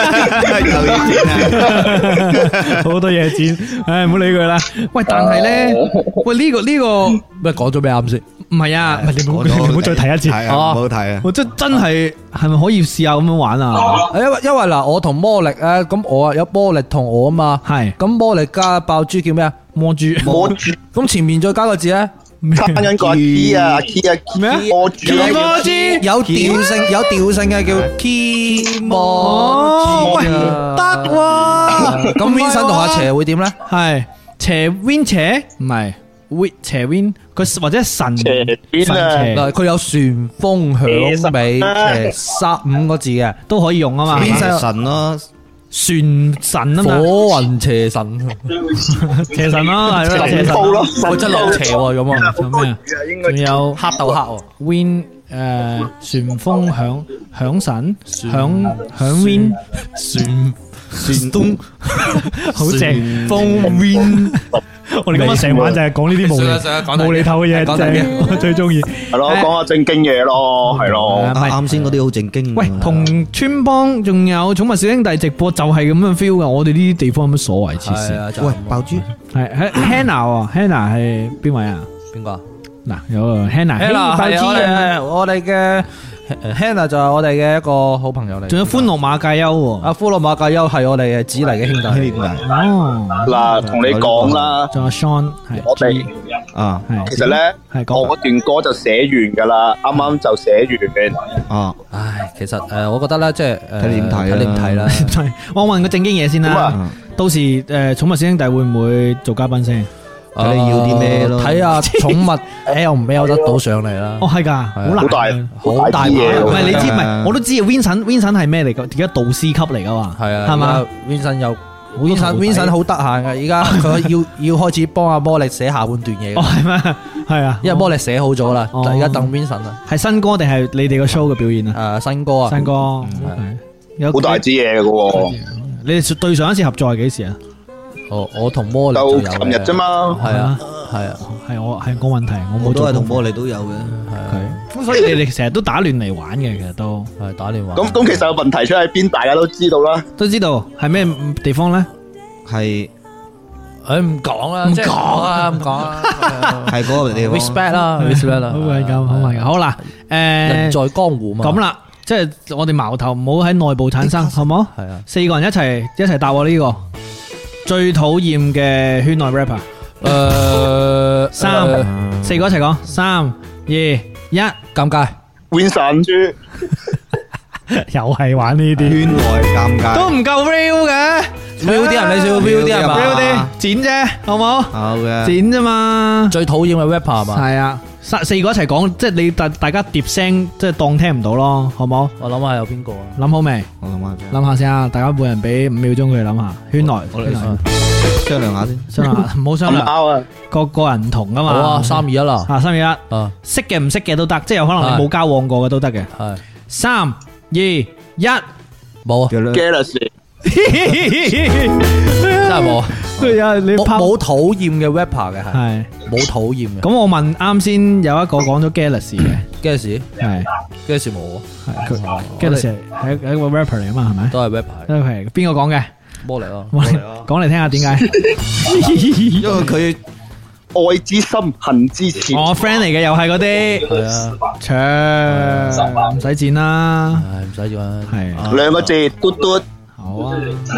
好多嘢剪，唉，唔好理佢啦。喂，但係咧，喂呢個咩講咗咩啱先？唔係啊，你唔好再提一次，唔好提啊！我真係咪可以試下咁樣玩啊？因為嗱，我同魔力咧，咁我啊有魔力同我啊嘛，係咁魔力加爆珠叫咩啊？魔珠，咁前面再加個字咧， 加緊個 key 啊 key 咩啊？ 魔珠有調性嘅叫 key 魔珠得喎。咁 Vincent 同阿邪會點咧？係邪 Win 邪唔係。邪 Win 佢或者神邪嗱，佢有旋風響尾邪5個字嘅都可以用啊嘛。神咯，旋神啊嘛，火雲邪神，邪神咯，係咯，邪神咯，我真落邪咁啊。仲咩啊？仲有黑鬥黑 Win 旋風響神響 Win 旋東好正，風 win。我哋今日成晚就係講呢啲無厘頭嘅嘢，正我最中意。 係咯，講下正經嘢咯，係咯。 啱先嗰啲好正經。 喂，同村幫仲有寵物小兄弟直播就係咁樣 feel 噶。我哋呢啲地方有乜所謂？黐線。 喂，爆珠係 Hannah 係邊位啊？ 邊個？ 嗱，有 Hannah 係我哋嘅。Hannah 就係我哋嘅一個好朋友嚟， 仲有歡樂馬介休喎。 阿歡樂馬介休係我哋嘅子嚟嘅兄弟。 哦， 嗱，同你講啦， 仲有 Sean 係我哋啊， 其實咧，我嗰段歌就寫完噶啦，啱啱就寫完。 啊，唉，其實我覺得咧，即係睇你點睇啦。 我問個正經嘢先啦，到時寵物小兄弟會唔會做嘉賓先？ 睇你要啲咩咯？睇下寵物 L 唔 L 得到上嚟啦。 哦，係噶，好難， 好大嘢。 唔係你知，唔係我都知。Vincent 係咩嚟噶？而家導師級嚟噶嘛？係啊，係嘛 ？Vincent 好得閒噶，而家佢要開始幫阿波力寫下半段嘢。 哦，係咩？係啊， 因為波力寫好咗啦，而家等 Vincent 啊。 係新歌定係你哋個 show 嘅表演啊？ 新歌啊， 新歌， 好大支嘢噶。 你哋對上一次合作係幾時啊？ 我同魔力就琴日啫嘛， 係我問題，我冇都係同魔力都有嘅， 咁所以你哋成日都打亂嚟玩嘅，其實都係打亂玩。 咁其實個問題出喺邊，大家都知道啦， 都知道係咩地方咧？ 係唔講啦，唔講啦，係嗰個地方。respect 啦， 好係咁，好啦， 人在江湖嘛， 咁啦，即係我哋矛頭唔好喺內部產生，好冇？係啊，四個人一齊答我呢個。最討厭嘅圈內 rapper，四個一齊講，3、2、1，尷尬 ，Vincent 豬， 又係玩呢啲圈內尷尬， 都唔夠 real 嘅 ，real 啲人你少 real 啲係嘛 ？real 啲，剪啫，好冇？ 好嘅， 剪啫嘛。 最討厭嘅 rapper 係嘛？ 係啊，四個一齊講，即係你大家疊聲，即係當聽唔到咯，好冇？ 我諗下有邊個啊？ 諗好未？ 我諗下先啊！大家每人俾5秒鐘佢諗下，圈內商量下先， 商量下，唔好商量，個人唔同噶嘛。 好啊，3、2、1啦 ，3、2、1，識嘅唔識嘅都得，即係有可能你冇交往過嘅都得嘅。係3、2、1，冇啊 ，Galaxy， 真係冇。 係啊，你冇討厭嘅 rapper 嘅係冇討厭嘅。 咁我問啱先有一個講咗 Galaxy 嘅 Galaxy 係 Galaxy 冇啊 ，Galaxy 係一個 rapper 嚟啊嘛，係咪？ 都係 rapper， 都係邊個講嘅？ 魔力咯， 講嚟聽下點解？ 因為佢愛之深，恨之切。 我 friend 嚟嘅，又係嗰啲。係啊，唔使剪啦， 唔使剪啦， 係 2個字，嘟嘟。 好啊，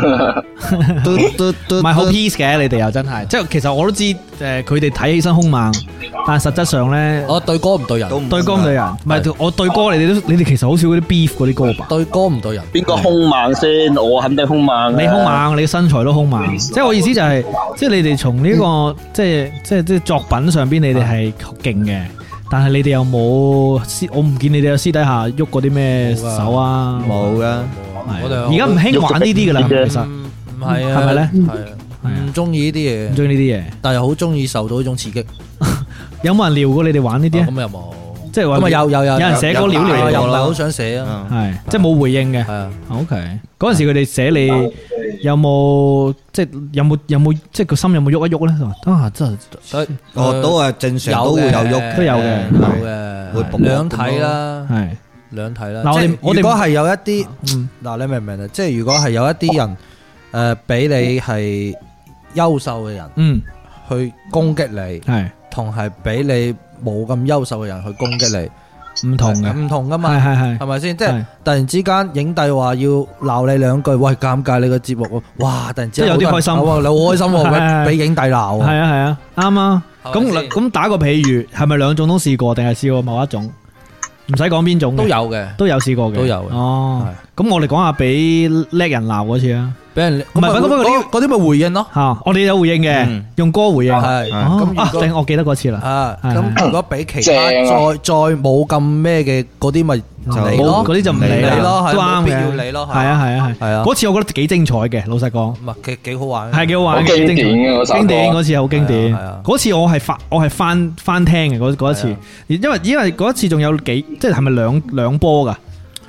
唔係好 peace 嘅，你哋又真係，即係其實我都知，佢哋睇起身兇猛，但係實質上咧， 我對歌唔對人， 對歌唔對人，唔係我對歌，你哋其實好少嗰啲 beef 嗰啲歌吧？ 對歌唔對人， 邊個兇猛先？我肯定兇猛。 你兇猛，你身材都兇猛，即係我意思就係，即係你哋從呢個即係作品上邊，你哋係勁嘅，但係你哋有冇我唔見你哋有私底下喐過啲咩手啊？ 冇噶。 而家唔興玩呢啲噶啦，其實唔係啊， 係咪咧？ 係唔中意呢啲嘢， 唔中意呢啲嘢，但係又好中意受到呢種刺激。 有冇人撩過你哋玩呢啲啊？ 咁又冇， 即係話咁啊有人寫歌撩嚟， 又唔係好想寫啊， 係即係冇回應嘅。係啊 ，OK。嗰陣時佢哋寫你有冇即係有冇即係個心有冇喐一喐咧？啊，真係都係正常都會有喐， 都有嘅， 有嘅，會兩睇啦，係。兩睇啦，嗱我哋如果係有一啲，嗱你明唔明啊？即係如果係有一啲人，比你係優秀嘅人，去攻擊你，係同係比你冇咁優秀嘅人去攻擊你，唔同嘅，唔同噶嘛，係咪先？即係突然之間影帝話要鬧你兩句，喂尷尬你個節目，哇！突然之間有啲開心， 你好開心，俾影帝鬧， 係啊，啱啊。咁打個譬如，係咪兩種都試過，定係試過某一種？唔使講邊種都有嘅， 都有試過嘅， 都有嘅。哦，咁我哋講下俾叻人鬧嗰次啊， 俾人唔係嗰啲咪回應咯。 吓，我哋有回應嘅，用歌回應。係咁我記得嗰次啦。啊， 咁如果俾其他再冇咁咩嘅嗰啲咪唔理咯， 嗰啲就唔理咯， 都啱嘅，必要理咯。係啊。嗰次我覺得幾精彩嘅，老實講。 唔係，其實幾好玩。 係幾好玩， 經典嘅經典嗰次好經典。嗰次我係翻聽嘅嗰一次，因為嗰一次仲有幾即係咪兩波噶？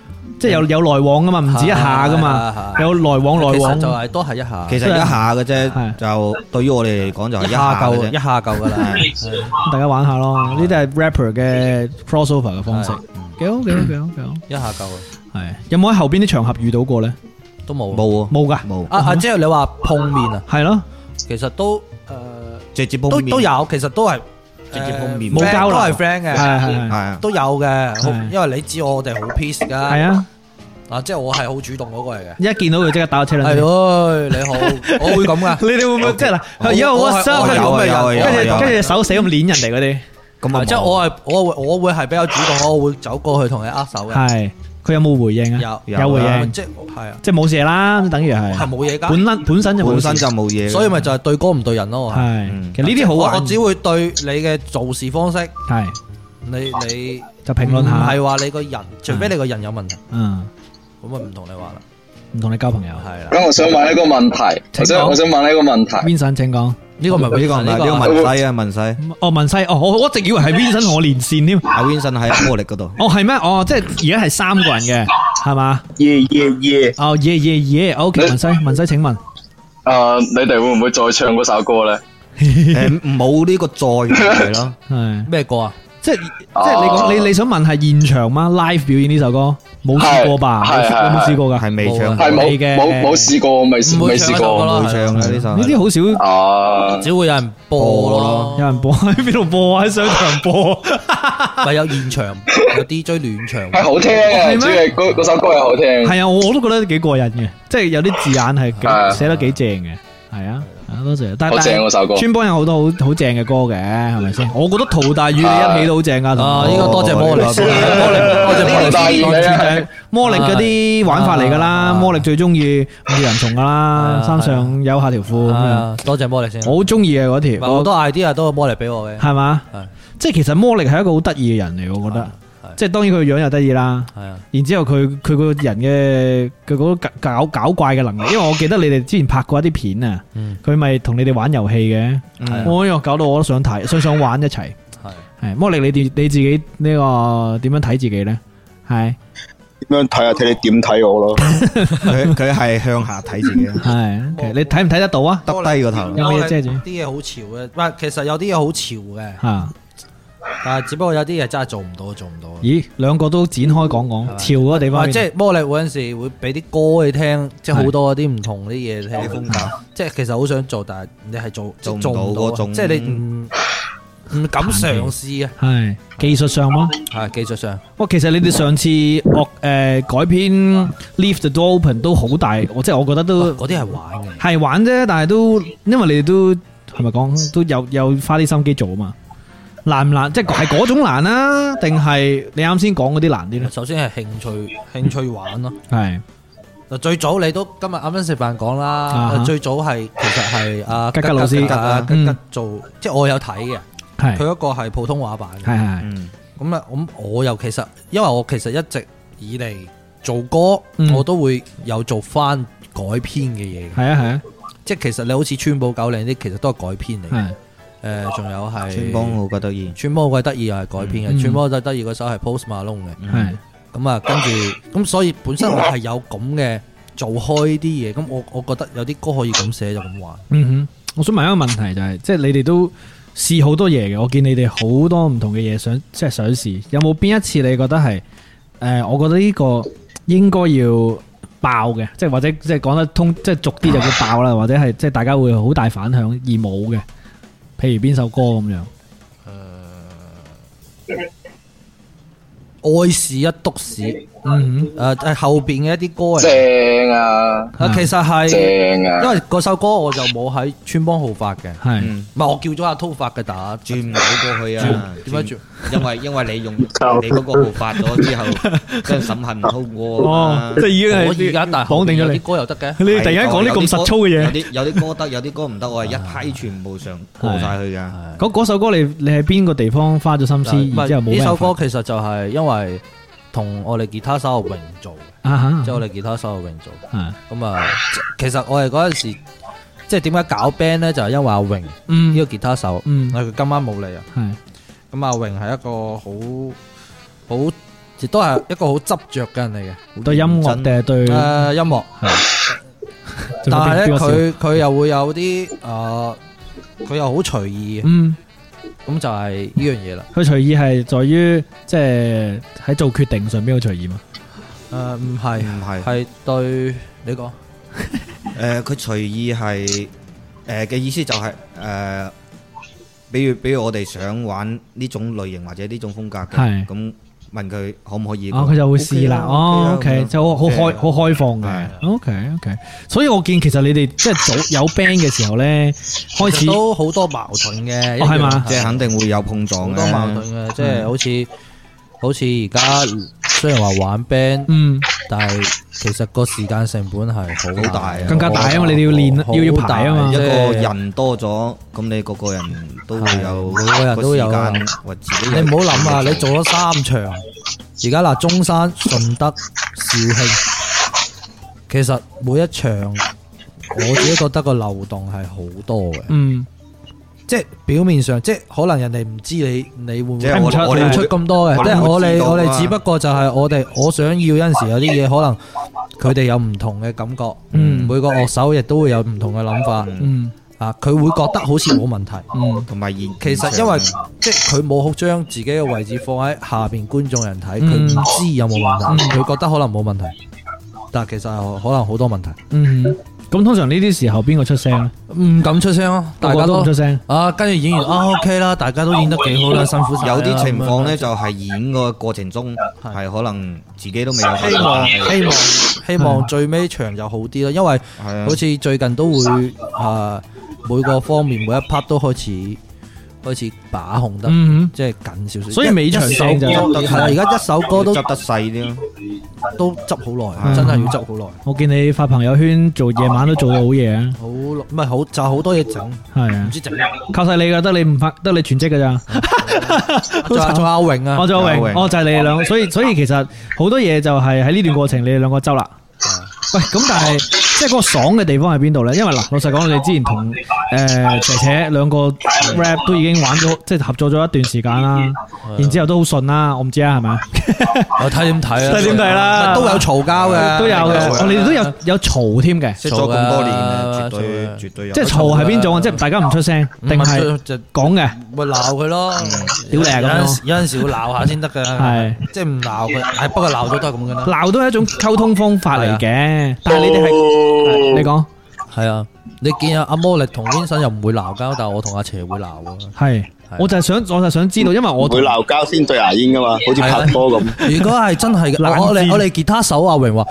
即係有來往噶嘛，唔止一下噶嘛，有來往來往就係都係一下， 其實一下嘅啫，就對於我哋嚟講就係一下夠噶啦， 大家玩下咯，呢啲係 rapper 嘅 crossover 嘅方式，幾好， 一下夠。 係有冇喺後邊啲場合遇到過咧？ 都冇， 冇噶， 冇。即係你話碰面啊？ 係咯， 其實都直接碰面都有，其實都係直接碰面， 冇交流， 都係 friend 嘅， 係都有嘅。因為你知我哋好 peace 噶， 係啊， 即係我係好主動嗰個嚟嘅。 一見到佢即刻打車輪， 係咯，你好，我會咁噶。 你哋會唔會即係嗱？而家我收，跟住手死咁捏人哋嗰啲， 咁即係我會係比較主動，我會走過去同你握手嘅。 係。佢有冇回應啊？有回應，即係冇事啦，等於係冇嘢噶。 本身就冇嘢， 所以咪就係對歌唔對人咯。 係，其實呢啲好玩。 我只會對你嘅做事方式， 係你就評論下， 唔係話你個人，除非你個人有問題。咁啊唔同你玩啦， 唔同你交朋友。 係啦。 咁我想問一個問題，我想問一個問題。 Vincent，請講。 呢個唔係呢個文西啊，文西。 文西，我一直以為係 Vincent 同我連線添。 Vincent 喺魔力嗰度。 係咩？即係而家係3個人嘅，係嘛？ 耶。 OK，文西請問。 你哋會唔會再唱嗰首歌咧？ 冇呢個再係咯。 係咩歌啊？ 即係你講你想問係現場嗎 ？Live 表演呢首歌冇試過吧？有冇試過噶？ 係未唱， 係冇試過，未試過， 冇唱嘅呢首。 呢啲好少， 只會有人播咯。 有人播喺邊度播啊？喺商場播， 咪有現場有 DJ 暖場， 係好聽嘅。主要嗰首歌係好聽。 係啊，我都覺得幾過癮嘅，即係有啲字眼係寫得幾正嘅，係啊。多謝，但係村幫有好多好正嘅歌嘅，係咪先？我覺得陶大宇你一起都好正噶。 應該多謝魔力，多謝魔力嗰啲玩法嚟噶啦。魔力最中意五人蟲噶啦，衫上有下條褲咁樣。 多謝魔力先， 我好中意嘅嗰條。 好多 idea 都係魔力俾我嘅， 係嘛？即係其實魔力係一個好得意嘅人嚟，我覺得。即係當然佢個樣又得意啦，然之後佢個人嘅佢嗰個搞怪嘅能力，因為我記得你哋之前拍過一啲片啊，佢咪同你哋玩遊戲嘅，我又搞到我都想睇，想玩一齊。係魔力，你自己呢個點樣睇自己咧？係點樣睇啊？睇你點睇我咯。 佢係向下睇自己。 係，你睇唔睇得到啊？ 耷低個頭， 有咩遮住？ 啲嘢好潮嘅，唔係，其實有啲嘢好潮嘅。但係只不過有啲嘢真係做唔到。 咦，兩個都展開講講潮嗰個地方。 即係魔力嗰陣時會俾啲歌你聽，即係好多啲唔同啲嘢聽。風格，即係其實好想做，但係你係做唔到嗰種，即係你唔敢嘗試啊。 係技術上咯， 係技術上。 其實你哋上次改編 Leave the Door Open 都好大，即係我覺得都嗰啲係玩嘅， 係玩啫。但係都因為你哋都係咪講都有花啲心機做啊嘛。難唔難？即係嗰種難啊？定係你啱先講嗰啲難啲咧？ 首先係興趣玩咯。 係最早你都今日啱啱食飯講啦。最早係其實係阿吉老師吉做，即係我有睇嘅。係佢一個係普通話版嘅。係咁啊，我又其實因為我其實一直以嚟做歌，我都會有做翻改編嘅嘢。係啊，即係其實你好似川寶九零啲，其實都係改編嚟嘅。仲有係村幫好鬼得意， 村幫好鬼得意又係改編嘅，村幫最得意嗰首係 Post Malone 嘅，係咁啊，跟住咁所以本身我係有咁嘅做開啲嘢，咁我覺得有啲歌可以咁寫就咁玩。 我想問一個問題就係，即係你哋都試好多嘢嘅，我見你哋好多唔同嘅嘢想試，有冇邊一次你覺得係我覺得呢個應該要爆嘅，即係或者即係講得通，即係俗啲就叫爆啦，或者係即係大家會好大反響而冇嘅。譬如邊首歌咁樣？愛是一篤屎。後邊嘅一啲歌嚟。 正啊！ 其實係正啊， 因為嗰首歌我就冇喺村幫號發嘅， 係唔係我叫咗阿濤發嘅，但係轉唔到過去啊？ 點解轉？ 因為你用你嗰個號發咗之後，跟住審核唔通過。 即係已經係我而家但係綁定咗你啲歌又得嘅。 你突然間講啲咁實粗嘅嘢， 有啲歌得，有啲歌唔得，我係一批全部上過晒去噶。 嗰首歌你喺邊個地方花咗心思？然之後冇咩？ 呢首歌其實就係因為同我哋吉他手阿榮做，即係我哋吉他手阿榮做。咁啊，其實我哋嗰陣時，即係點解搞 band 咧？就係因為阿榮呢個吉他手，佢今晚冇嚟啊。咁阿榮係一個好亦都係一個好執着嘅人嚟嘅。 對音樂定係對音樂？但係咧，佢又會有啲佢又好隨意嘅。咁就係呢樣嘢啦。佢隨意係在於即係喺做決定上邊好隨意嘛？ 唔係，係對你講。 佢隨意係嘅意思就係比如我哋想玩呢種類型或者呢種風格嘅，咁問佢可唔可以？ 佢就會試啦。OK，就好開放嘅。OK，所以我見其實你哋即係早有 band 嘅時候咧，開始都好多矛盾嘅， 係嘛？ 即係肯定會有碰撞， 好多矛盾嘅，即係好似而家雖然話玩 band，但係其實個時間成本係好大， 更加大啊嘛！你哋要練，要排啊嘛。 一個人多咗，咁你個個人都會有， 每個人都有啊。你唔好諗啊！你做咗3場，而家嗱，中山、順德、肇慶，其實每一場我自己覺得個流動係好多嘅。即係表面上，即係可能人哋唔知你會唔會我哋出咁多嘅，即係我哋只不過就係我想要有陣時有啲嘢，可能佢哋有唔同嘅感覺，每個樂手亦都會有唔同嘅諗法，佢會覺得好似冇問題， 同埋其實因為即係佢冇好將自己嘅位置放喺下邊觀眾人睇，佢唔知有冇問題，佢覺得可能冇問題，但係其實可能好多問題。 咁通常呢啲時候邊個出聲咧？ 唔敢出聲咯，大家都唔出聲。 跟住演員OK 啦，大家都演得幾好啦，辛苦晒。 有啲情況咧就係演個過程中係可能自己都未有希望最尾場就好啲啦，因為好似最近都會每個方面每一 part 都開始把控得即係緊少少， 所以尾場聲就係而家一首歌都執得細啲咯。 都執好耐，真係要執好耐。 我見你發朋友圈做夜晚都做到好夜啊！ 好唔係好就好多嘢整， 係啊， 唔知整靠晒你噶，得你全職噶咋？ 仲阿榮啊， 仲阿榮，就係你哋兩個，所以其實好多嘢就係喺呢段過程，你哋兩個執啦。喂，咁但係即係嗰個爽嘅地方喺邊度咧？因為嗱，老實講，你之前同姐姐兩個 rap 都已經玩咗，即係合作咗一段時間啦，然之後都好順啦，我唔知啊，係咪？ 我睇點睇啊？ 睇點睇啦？ 都有嘈交嘅， 都有嘅，我哋都有嘈添嘅， 識咗咁多年嘅，絕對有。 即係嘈係邊種啊？即係大家唔出聲，定係講嘅？ 咪鬧佢咯， 屌你咁有陣時會鬧下先得㗎，係即係唔鬧佢，不過鬧咗都係咁嘅啦。 鬧都係一種溝通方法嚟嘅，但係你哋係你講係啊？你見阿魔力同 Vincent 又唔會鬧交，但係我同阿邪會鬧喎。 係，我就係想知道，因為我會鬧交先對牙煙噶嘛，好似拍拖咁。 如果係真係嘅，我哋吉他手阿榮話。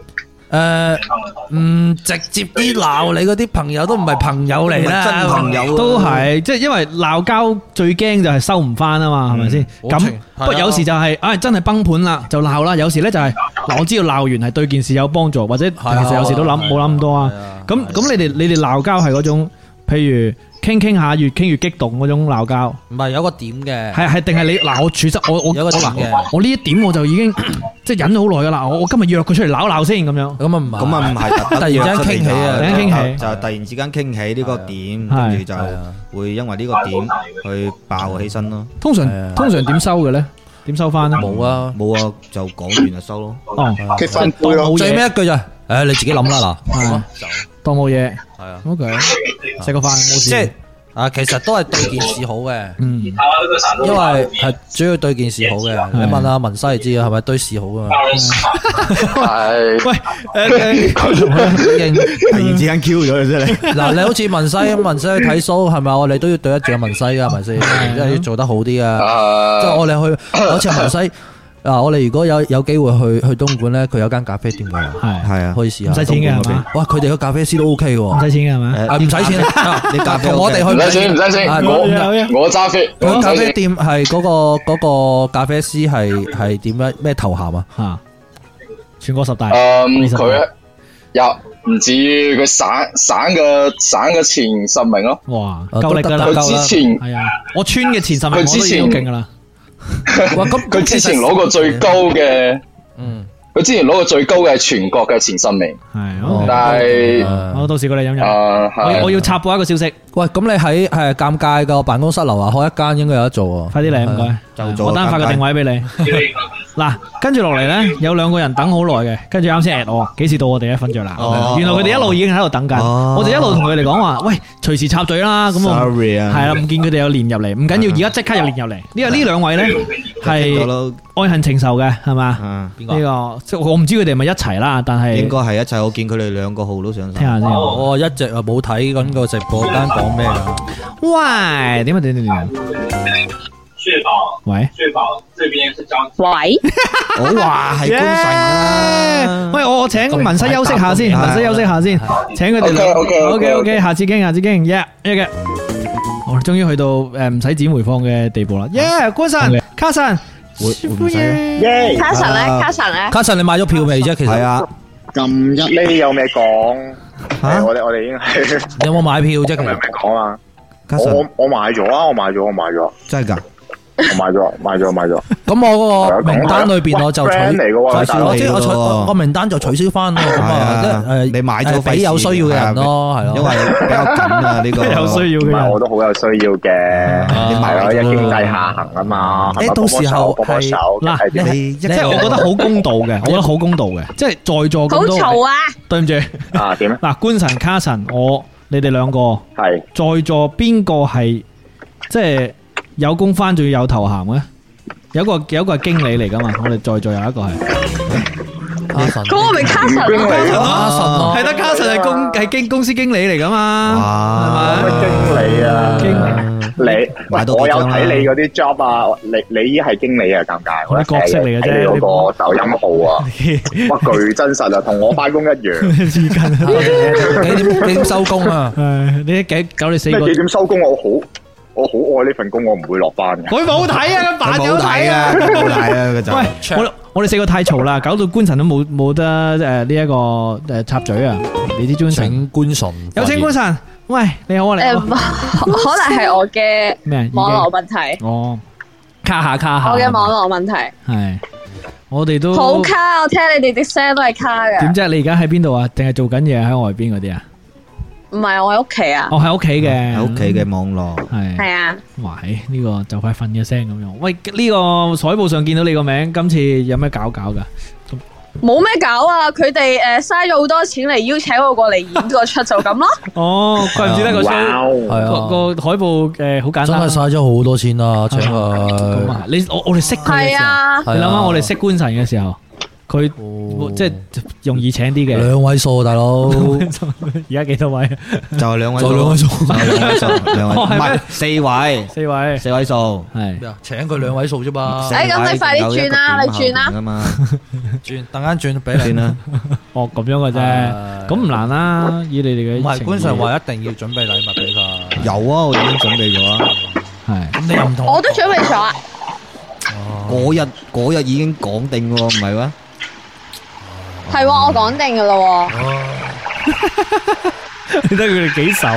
直接啲鬧你嗰啲朋友都唔係朋友嚟啦， 真朋友都係，即係因為鬧交最驚就係收唔翻啊嘛，係咪先？咁不過有時就係，真係崩盤啦就鬧啦。有時咧就係嗱，我知道鬧完係對件事有幫助，或者其實有時都冇諗咁多啊。咁你哋鬧交係嗰種，譬如傾下越傾越激動嗰種鬧交， 唔係有個點嘅， 係定係你嗱？我處實我有個點嘅， 我呢一點我就已經即係忍咗好耐噶啦。我今日約佢出嚟鬧先咁樣， 咁啊唔係，突然之間傾起啊， 就突然之間傾起呢個點，跟住就會因為呢個點去爆起身咯。 通常點收嘅咧？點收翻咧？ 冇啊，就講完就收咯。 結翻杯咯， 最尾一句就你自己諗啦嗱， 當冇嘢。 係啊 ，OK，食個飯冇事。 即係其實都係對件事好嘅，因為係主要對件事好嘅。你問阿文西就知啊，係咪對事好噶嘛？ 係。 喂， 突然之間 Q 咗佢啫你。 嗱，你好似文西去睇 show 係咪？我哋都要對得住阿文西噶，係咪先？即係要做得好啲噶。即係我哋去，好似阿文西。我哋如果有機會去東莞咧，佢有間咖啡店嘅， 係啊，可以試下。 唔使錢嘅係嘛？ 哇，佢哋個咖啡師都 OK 嘅， 唔使錢嘅係咪？ 唔使錢，你同我哋去唔使錢，我揸飛。 佢咖啡店係嗰個咖啡師係點樣咩頭銜啊？ 吓，全國10大。 佢又唔止佢省嘅前10名咯。 哇，夠力噶啦！ 佢之前係啊，我村嘅前10名我都已經好勁噶啦。 哇！咁佢之前攞過最高嘅， 佢之前攞過最高嘅全國嘅前10名， 係， 但係我到時過嚟飲飲。我要插播一個消息。 喂，咁你喺尷尬個辦公室樓下開一間應該有得做喎。 快啲嚟，唔該。我單發個定位俾你。嗱，跟住落嚟咧，有2個人等好耐嘅，跟住啱先 at 我，幾時到我哋瞓着啦？原來佢哋一路已經喺度等緊，我哋一路同佢哋講話，喂，隨時插嘴啦。咁我係啦，唔見佢哋有連入嚟，唔緊要，而家即刻有連入嚟。因為呢2位咧係愛恨情仇嘅，係嘛？邊個？呢個即係我唔知佢哋係咪一齊啦，但係應該係一齊。我見佢哋2個號都上。 聽下先。 我一直冇睇緊個直播間講咩啊？ 喂，點？ 確保， 喂， 確保這邊是張。 喂， 我話係官神啦。 喂，我請文西休息下先，文西休息下先，請佢哋。OK，下次傾，yeah，我終於去到唔使剪回放嘅地步啦。Yeah， 官神，卡神，歡迎。 卡神咧， 卡神你買咗票未啫？其實係啊， 咁一呢有咩講？我哋已經係。 你有冇買票啫？其實有咩講啊？我買咗啊！我買咗。 真係噶？ 我買咗。 咁我嗰個名單裏邊我就取消，我個名單就取消翻咯。咁啊， 你買咗俾有需要嘅人咯，係咯。 因為比較緊啊，呢個有需要嘅人， 我都好有需要嘅。你買咗，因為經濟下行啊嘛。 到時候係嗱，你即係我覺得好公道嘅，即係在座咁多。 好嘈啊！ 對唔住啊，點咧？ 嗱，官神、卡神，你哋2個係在座邊個係即係有工返仲要有頭銜嘅？有個係經理嚟噶嘛？我哋在座有一個係卡神， 嗰個咪卡神咯， 係得卡神係公司經理嚟噶嘛？係咪？經理啊，我有睇你嗰啲 job 啊，你依係經理啊，尷尬， 我啲角色嚟嘅啫， 嗰個抖音號啊，哇，巨真實啊，同我翻工一樣。 幾點收工啊？ 你搞你4個幾點收工？我好愛呢份工，我唔會落班嘅。 佢冇睇啊，扮有睇啊， 冇睇啊，佢就。 喂，我哋4個太嘈啦，搞到官神都冇得呢一個插嘴啊！你啲專請官神， 有請官神。喂，你好啊，你好。 可能係我嘅網絡問題。 哦，卡下。 我嘅網絡問題。 係，我哋都好卡，我聽你哋啲聲都係卡嘅。 點啫？你而家喺邊度啊？定係做緊嘢喺外邊嗰啲啊？ 唔係，我喺屋企啊！ 我喺屋企嘅， 喺屋企嘅網絡係啊！ 哇，呢個就快瞓嘅聲咁樣。喂，呢個彩報上見到你個名，今次有咩搞噶？ 冇咩搞啊！佢哋嘥咗好多錢嚟邀請我過嚟演個出就咁咯。 哦，怪唔知得個 show 個海報好簡單。 真係嘥咗好多錢啊！請佢。 我哋識佢嘅時候，你諗下我哋識官神嘅時候。佢即係容易請啲嘅 ，2位數大佬， 而家幾多位？ 就係2位數， 就2位數， 唔係4位數， 係請佢2位數啫嘛。 咁你快啲轉啦，你轉啦， 轉等間轉俾你啦。 哦，咁樣嘅啫，咁唔難啦。以你哋嘅唔係官上話一定要準備禮物俾佢。 有啊，我已經準備咗啦。 係咁你又唔同， 我都準備咗啊。 嗰日已經講定喎，唔係咩？ 係喎，我講定噶啦。 你睇佢哋幾手，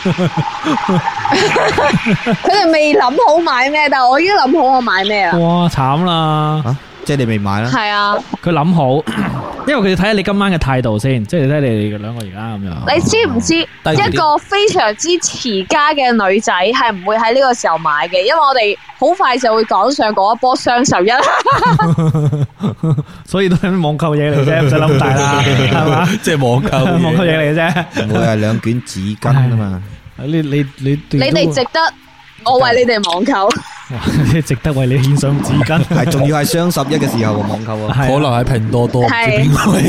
佢哋未諗好買咩，但係我已經諗好我買咩啦。 哇，慘啦！ 即係你未買啦？ 係啊， 佢諗好，因為佢要睇下你今晚嘅態度先，即係睇你哋2個而家咁樣。 你知唔知一個非常之持家嘅女仔係唔會喺呢個時候買嘅？因為我哋好快就會趕上嗰一波雙11。 所以都係網購嘢嚟啫，唔使諗大啦，係嘛？ 即係網購嘢嚟嘅啫， 唔會係2卷紙巾啊嘛。 你哋值得，我為你哋網購。 你值得為你獻上紙巾， 係仲要係雙11嘅時候網購啊， 可能喺拼多多， 係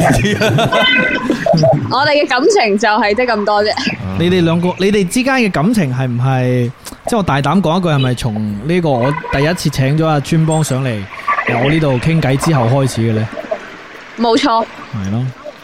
我哋嘅感情就係得咁多啫。 你哋2個，你哋之間嘅感情係唔係？即係我大膽講一句，係咪從呢個我第一次請咗阿川幫上嚟我呢度傾偈之後開始嘅咧？ 冇錯， 係咯。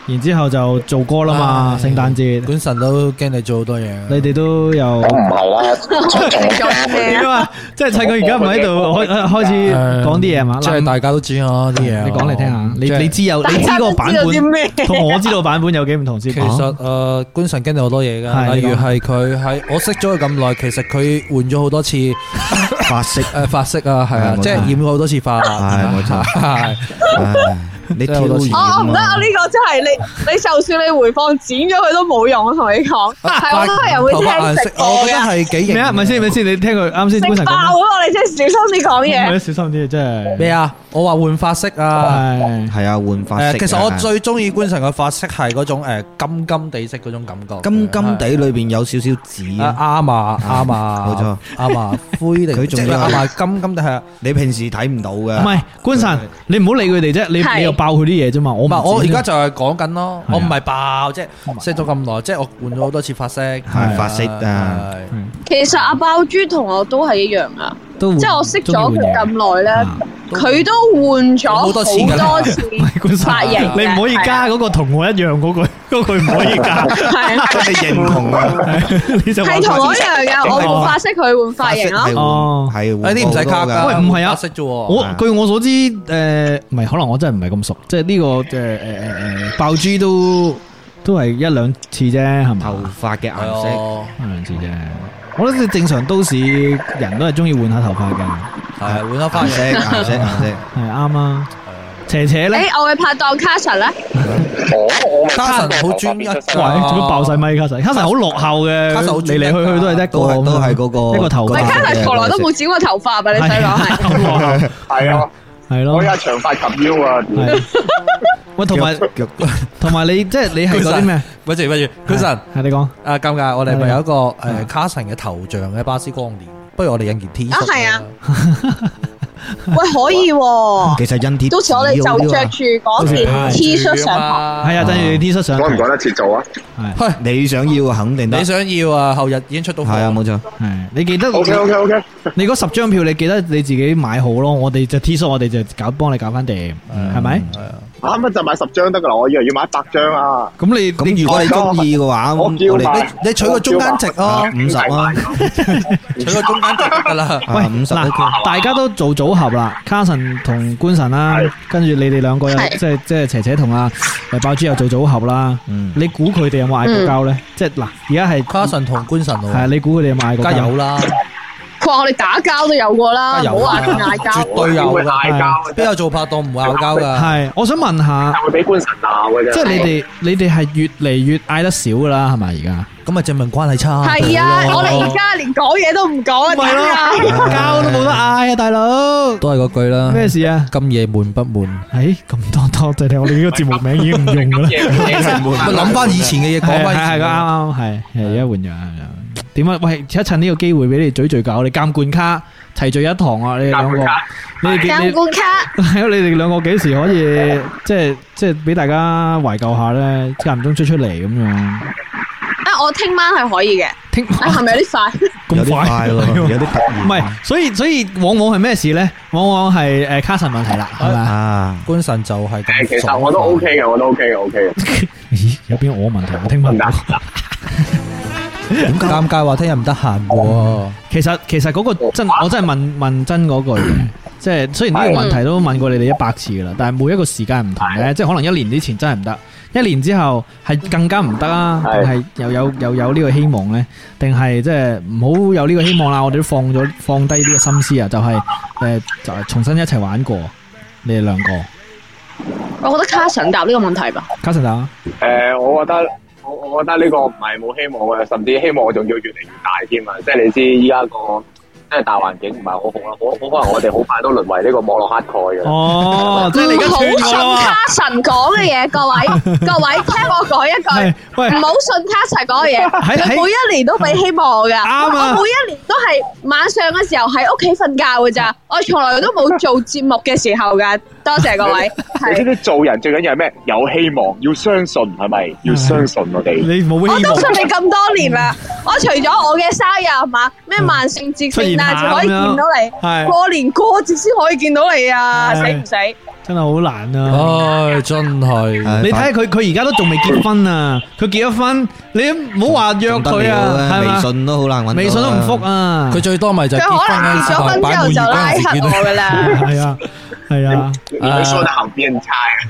然之後就做歌啦嘛，聖誕節。 本神都驚你做好多嘢， 你哋都有。 我唔係啦， 點啊？即係趁佢而家唔喺度，開始講啲嘢嘛。 即係大家都知啊啲嘢。 你講嚟聽下。你知個版本同我知道版本有幾唔同先。 其實官神經歷好多嘢噶，例如係佢喺我識咗佢咁耐，其實佢換咗好多次髮色啊，係啊，即係染咗好多次髮。係冇錯，係。 你挑我唔得啊！呢個真係你就算你回放剪咗佢都冇用，我同你講。係好多人會聽直播嘅。 我覺得係幾型。 咩啊？咪先，你聽佢啱先。 食爆啊！你真係小心啲講嘢。 小心啲，真係。 咩啊？我話換髮色啊， 係啊，換髮色。 其實我最中意官神嘅髮色係嗰種金金地色嗰種感覺。 金金地裏邊有少少紫。 啱啊，冇錯，啱啊，灰定佢仲要啱啊，金金地係啊。 你平時睇唔到嘅。 唔係官神，你唔好理佢哋啫，你又爆佢啲嘢啫嘛。 我而家就係講緊咯，我唔係爆，即係識咗咁耐，即係我換咗好多次髮色， 係髮色啊。 其實阿爆豬同我都係一樣啊，即係我識咗佢咁耐咧，佢都換咗好多次髮型。 你唔可以加嗰個同我一樣嗰句唔可以加， 係我哋認同啊。 係同我一樣嘅，我換髮色，佢換髮型咯。 哦， 係呢啲唔使卡噶。 喂，唔係啊， 色啫。 據我所知，唔係，可能我真係唔係咁熟，即係呢個爆豬都係一兩次啫，係咪？ 頭髮嘅顏色一兩次啫。我覺得正常都市人都係中意換下頭髮嘅， 係換下髮型顏色係啱啊。斜斜咧， 我嘅拍檔卡神咧， 卡神好專一， 喂，做乜爆晒咪？卡神好落後嘅，嚟嚟去去都係一個， 都係嗰個一個頭髮。 卡神從來都冇剪過頭髮啊！你細講係， 係啊， 係咯， 我而家長髮及腰啊。 喂，同埋你即係你係嗰啲咩？ 不如，官神係你講啊，尷尬，我哋咪有一個卡神嘅頭像嘅巴斯光年，不如我哋印件 T 恤啊？ 係啊。喂，可以喎， 其實印 T， 到時我哋就着住嗰件 T 恤上台， 係啊，跟住 T 恤上台， 趕唔趕得切做啊？ 係，你想要肯定得， 你想要啊，後日已經出到貨， 係啊，冇錯， 係，你記得 OK， 你嗰10張票，你記得你自己買好咯，我哋就 T 恤，我哋就幫你搞翻掂，係咪？係啊。 啱啱就買10張得噶啦，我以為要買100張啊！ 咁你如果你中意嘅話， 你取個中間值咯 ，50啊， 取個中間值得啦。 喂，50，大家都做組合啦，卡神同官神啦，跟住你哋兩個又即係斜斜同阿爆豬又做組合啦。你估佢哋有冇嗌過交咧？即係嗱，而家係卡神同官神喎。 係，你估佢哋有冇嗌過交？ 梗有啦。 佢話我哋打交都有過啦，冇話嗌交， 絕對有嗌交，邊有做拍檔唔會嗌交噶？ 係，我想問下， 會俾官神鬧嘅啫。 即係你哋係越嚟越嗌得少噶啦，係咪而家？ 咁咪證明關係差。 係啊，我哋而家連講嘢都唔講啊， 係咯，交都冇得嗌啊，大佬。 都係嗰句啦。咩事啊？今夜悶不悶？ 咁多謝聽我哋呢個節目名已經唔用噶啦。 諗翻以前嘅嘢，講翻係啱，係而家換咗。點啊？喂，趁呢個機會俾你聚搞，你監管卡齊聚一堂啊！你哋兩個， 監管卡係啊！你哋兩個幾時可以即係俾大家懷舊下咧？間唔中出嚟咁樣。 啊！我聽晚係可以嘅。係咪有啲快？ 咁快咯，有啲突然。唔係，所以往往係咩事咧？往往係卡神問題啦，係咪啊？官神就係咁。 其實我都 OK 嘅，我都 OK 嘅。 咦？有邊我問題？我聽唔到。 咁尷尬話聽日唔得閒喎。 其實嗰個我真係問真嗰句嘅，即係雖然呢個問題都問過你哋100次噶啦，但係每一個時間唔同嘅，即係可能1年之前真係唔得，1年之後係更加唔得啊，定係又有呢個希望咧？定係即係唔好有呢個希望啦？我哋都放低呢個心思啊，就係重新一齊玩過，你哋兩個。 我覺得卡神答呢個問題吧。 卡神答啊？ 我覺得呢個唔係冇希望嘅，甚至希望仲要越嚟越大添啊！即係你知依家個即係大環境唔係好好啦，好可能我哋好快都淪為呢個網絡乞丐嘅。 哦，即係你而家唔好信卡神講嘅嘢，各位聽我講一句，唔好信卡神講嘅嘢。佢每一年都俾希望我㗎，我每一年都係晚上嘅時候喺屋企瞓覺㗎咋，我從來都冇做節目嘅時候㗎。多謝各位。 你知唔知做人最緊要係咩？有希望，要相信，係咪？要相信我哋。 你冇希望。 我都信你咁多年啦，我除咗我嘅生日係嘛，咩萬聖節、聖誕節可以見到你，過年過節先可以見到你啊！死唔死？ 真係好難啊！ 唉，真係。 你睇下佢而家都仲未結婚啊！佢結咗婚，你唔好話約佢啊，係嘛？ 微信都好難揾， 微信都唔復啊！ 佢最多咪就佢可能結咗婚之後就拉黑我噶啦。 係啊，係啊。 你說得好變態。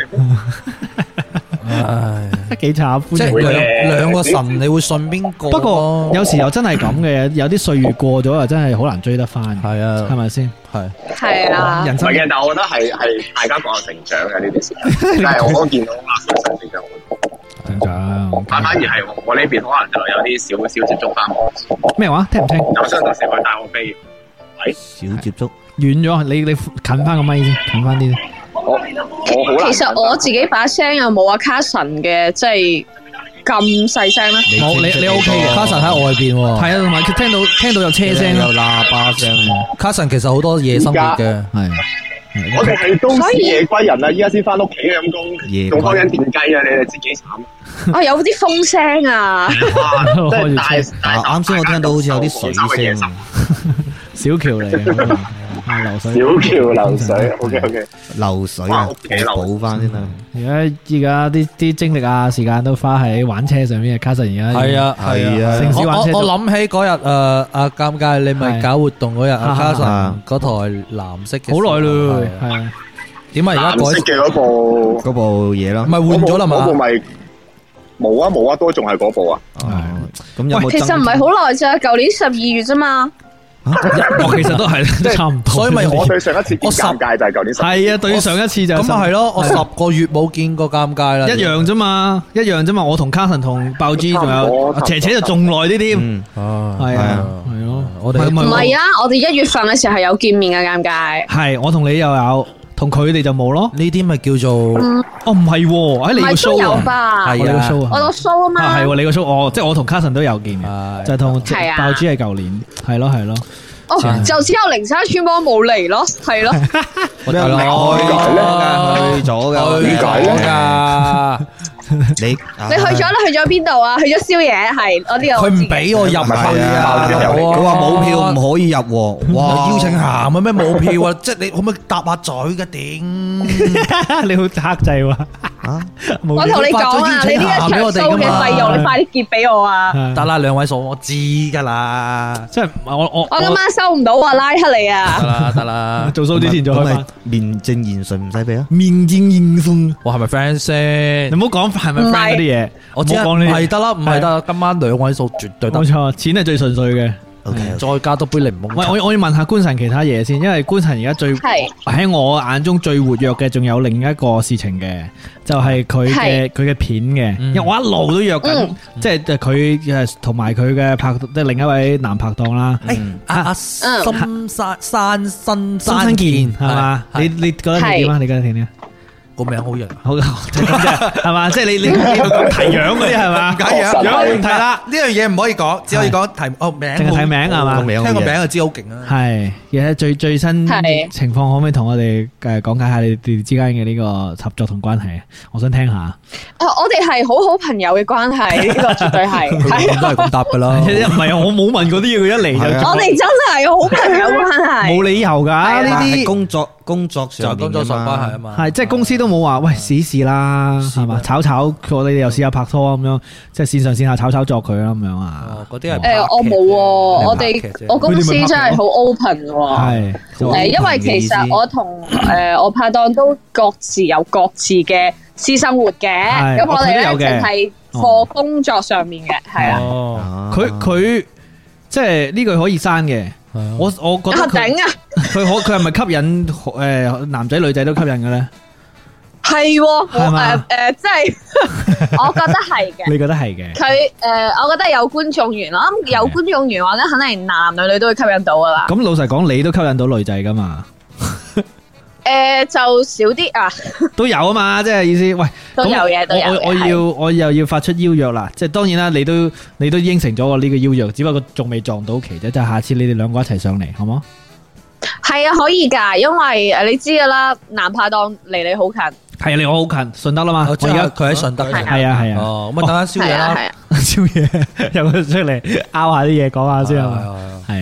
唉， 幾慘！ 即係兩個神，你會信邊個？ 不過有時又真係咁嘅，有啲歲月過咗又真係好難追得翻。 係啊， 係咪先？ 係啊， 人生嘅，但係我覺得係大家各有成長嘅呢啲事。但係我見到阿神成長好多。 成長， 反而係我呢邊可能就有啲少接觸翻我。 咩話？聽唔聽？ 有相到時佢帶我飛，係少接觸， 遠咗。你近翻個咪先，近翻啲。 我好難。 其實我自己把聲又冇阿卡神嘅，即係咁細聲啦。 冇你 OK 嘅， 卡神喺外邊。 係啊，同埋佢聽到有車聲， 有喇叭聲。 卡神其實好多夜生活嘅，係。 我哋係都市夜歸人啦，依家先翻屋企咁工，仲開緊電雞啊！你哋知幾慘？ 哦，有啲風聲啊！ 啱先我聽到好似有啲水聲， 小橋嚟嘅。流水， 小橋流水，OK， 流水啊，補翻先啦。 而家啲精力啊，時間都花喺玩車上面。卡神而家係啊， 城市玩車。 我諗起嗰日阿尷尬，你咪搞活動嗰日，阿卡神嗰台藍色嘅， 好耐咯，係啊。點解而家改藍色嘅嗰部嘢咯？ 唔係換咗啦嘛？ 嗰部咪冇啊，都仲係嗰部啊。 咁有冇？ 其實唔係好耐咋，舊年12月啫嘛。 我其實都係差唔多， 所以咪我對上一次見尷尬就係舊年。 係啊，對上一次就咁啊係咯，我10個月冇見過尷尬啦， 一樣啫嘛。我同卡神同爆 G 仲有斜斜就仲耐啲添。係啊，係咯，我哋唔係啊，我哋1月份嘅時候係有見面嘅尷尬。 係我同你又有，同佢哋就冇咯。 呢啲咪叫做哦唔係，喺你個 show 啊，係啊， 我個 show 啊嘛。 係你個 show，即係我同卡神都有見嘅，就同爆 G 係舊年，係咯。 哦，就只有靈山村幫冇嚟咯，係咯。 我哋去咗嘅， 點解咧？ 你去咗邊度啊？去咗宵夜係，我呢個佢唔俾我入去啊！ 佢話冇票唔可以入， 哇！邀請函啊咩冇票啊？即係你可唔可以搭下嘴嘅頂？ 你好克制喎！ 我同你講啊，你呢一場 show 嘅費用，你快啲結俾我啊！ 得啦，2位數我知噶啦， 即係我今晚收唔到啊，拉黑你啊！ 得啦， 做 show 之前再開翻。 面正言順唔使俾啊！ 面正言順， 我係咪 friend 先？ 你唔好講係咪 friend 嗰啲嘢， 我知唔係得啦，唔係得，今晚2位數絕對得。 冇錯，錢係最純粹嘅。 再加多杯檸檬。 我要問下官神其他嘢先，因為官神而家喺我眼中最活躍嘅，仲有另一個事情嘅，就係佢嘅片嘅。因為我一路都約緊，即係佢同埋佢嘅拍，即係另一位男拍檔啦。 阿深山新健係嘛？你覺得點啊？你覺得點啊？ 個名好型， 好就咁啫，係嘛？即係你提樣嗰啲係嘛？樣唔提啦， 呢樣嘢唔可以講，只可以講提名， 淨係提名係嘛？ 聽個名就知好勁啦。 係，而家最新情況可唔可以同我哋講解下你哋之間嘅呢個合作同關係？我想聽下。 我哋係好好朋友嘅關係，呢個絕對係。 都係咁答噶啦。 唔係我冇問嗰啲嘢，佢一嚟就。 我哋真係好朋友關係。 冇理由噶呢啲工作上關係啊嘛。 係即係公司都冇話喂試試啦，係嘛？炒我哋又試下拍拖咁樣，即係線上線下炒作佢啦咁樣啊。 嗰啲係我冇，我公司真係好 open 喎。係因為其實我同我拍檔都各自有各自嘅私生活嘅，咁我哋咧淨係課工作上面嘅，係啊。 佢即係呢句可以刪嘅。我覺得佢係咪吸引男仔女仔都吸引嘅咧？ 係，即係我覺得係嘅。 你覺得係嘅？ 佢我覺得有觀眾緣咯，有觀眾緣話咧，肯定男女都會吸引到噶啦。咁老實講，你都吸引到女仔噶嘛？ 就少啲啊。 都有啊嘛，即係意思。喂， 都有嘢，都有。 我又要發出邀約啦，即係當然啦，你都應承咗我呢個邀約，只不過仲未撞到期啫。就下次你哋兩個一齊上嚟，好冇？ 係啊，可以噶，因為你知噶啦，男拍檔離你好近。係啊，離我好近，順德啦嘛。我而家佢喺順德。 係啊。 哦，咁啊，等下宵夜啦。 宵夜有佢出嚟拗下啲嘢，講下先係啊。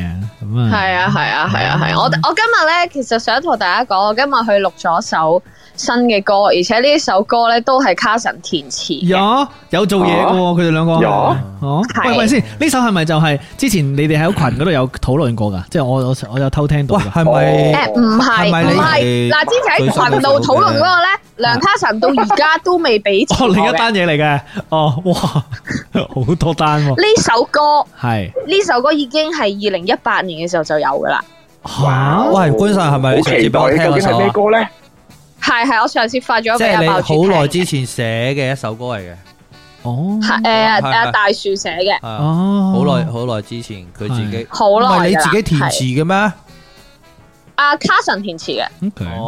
咁啊， 係啊！我今日咧，其實想同大家講，我今日去錄咗首新嘅歌，而且呢首歌咧都係 Carson 填詞。 有做嘢嘅，佢哋兩個。喂先，呢首係咪就係之前你哋喺群嗰度有討論過噶？即係我有偷聽到。係咪？唔係。嗱，之前喺群度討論嗰個咧，梁 Carson 到而家都未俾錢。 另一單嘢嚟嘅。哇，好多單。 呢首歌已經係2018年嘅時候就有噶啦。 喂，官神係咪你上次俾我聽嗰首？ 咩歌咧？ 係我上次發咗俾阿爆即係你好耐之前寫嘅一首歌嚟嘅。 大樹寫嘅。 好耐之前佢自己。 好耐。 唔係你自己填詞嘅咩？ 阿 Carson 填詞嘅。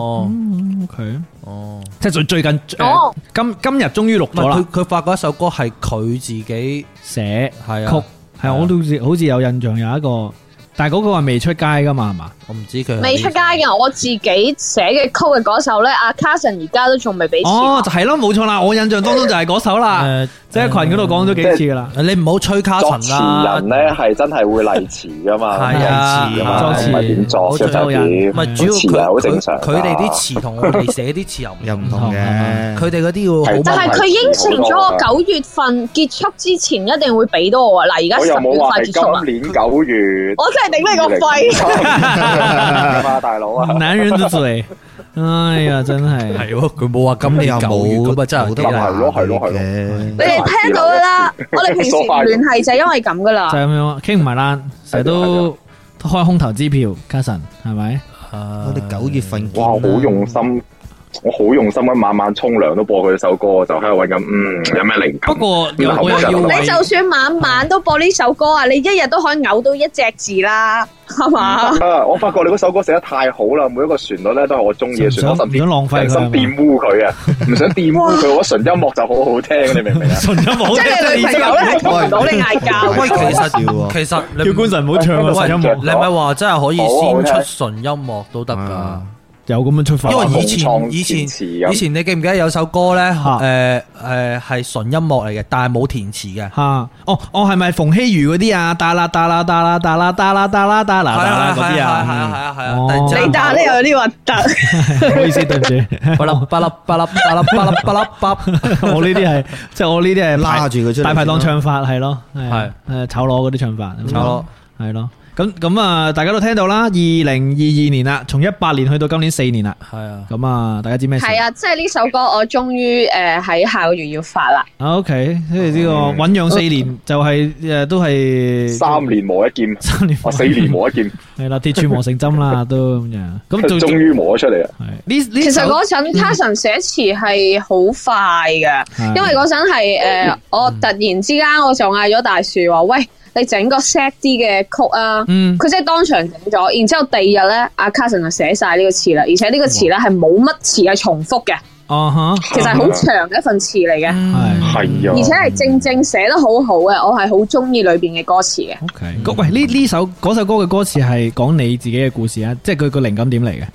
OK。即係最近今日終於錄咗啦。 佢發過一首歌係佢自己寫曲，係我都好似有印象有一個。但係嗰個係未出街噶嘛，係嘛？我唔知佢未出街嘅，我自己寫嘅曲嘅嗰首咧，阿 Carson 而家都仲未俾錢。 就係咯，冇錯啦，我印象當中就係嗰首啦。即係群嗰度講咗幾次噶啦。你唔好吹 Carson 啦。 作詞人咧係真係會例詞噶嘛， 係啊， 唔係點作嘅就點。 唔係主要詞係好正常。 佢哋啲詞同我哋寫啲詞又唔同嘅。佢哋嗰啲要， 但係佢應承咗我9月份結束之前一定會俾到我啊！嗱，而家10月快結束啦。 今年9月， 我真係頂你個肺！ 大佬啊！ 男人的嘴，哎呀，真係係喎，佢冇話今年9月咁啊，真係好得係咯。 你哋聽到噶啦，我哋平時唔聯繫就係因為咁噶啦， 就係咁樣傾唔埋啦，成日都開空頭支票，Carson係咪？ 我哋9月份哇，好用心。我好用心咁晚晚沖涼都播佢首歌，就喺度搵緊，有咩靈感？ 不過我又要你就算晚晚都播呢首歌啊，你一日都可以嘔到一隻字啦，係嘛？ 我發覺你嗰首歌寫得太好啦，每一個旋律咧都係我中意嘅旋律， 唔想浪費佢， 想玷污佢啊，唔想玷污佢，我純音樂就好好聽，你明唔明啊？ 純音樂即係你女朋友咧係同唔到你嗌交。 喂，其實叫官神唔好唱啊！純音樂， 你咪話真係可以先出純音樂都得噶。 有咁樣出發， 因為以前你記唔記得有首歌咧？係純音樂嚟嘅，但係冇填詞嘅。 係咪馮曦妤嗰啲啊？噠啦噠啦噠啦噠啦噠啦噠啦噠啦嗰啲啊？係啊。 你打呢有啲核突， 唔好意思，對唔住。巴拉巴拉巴拉巴拉巴拉巴拉巴，我呢啲係即係我呢啲係拉住佢出嚟， 大排檔唱法係咯，係炒螺嗰啲唱法， 炒螺係咯。咁啊，大家都聽到啦，2022年啦，從18年去到今年4年啦，係啊，咁啊，大家知咩事？ 係啊，即係呢首歌我終於喺下個月要發啦。 OK，即係呢個醞釀4年，就係都係 3年磨一劍，4年磨一劍， 係啦，鐵杵磨成針啦，都咁樣。 咁終於磨咗出嚟啊！ 其實嗰陣 Carson 寫詞係好快嘅，因為嗰陣係我突然之間我就嗌咗大樹話喂。你整個 sad 啲嘅曲啊，佢即係當場整咗，然之後第二日咧，阿 Carson 就寫晒呢個詞啦，而且呢個詞咧係冇乜詞係重複嘅，其實係好長嘅一份詞嚟嘅， 係啊， 而且係正正寫得好好嘅，我係好中意裏邊嘅歌詞嘅。 OK，喂，呢首歌嘅歌詞係講你自己嘅故事啊，即係佢個靈感點嚟嘅？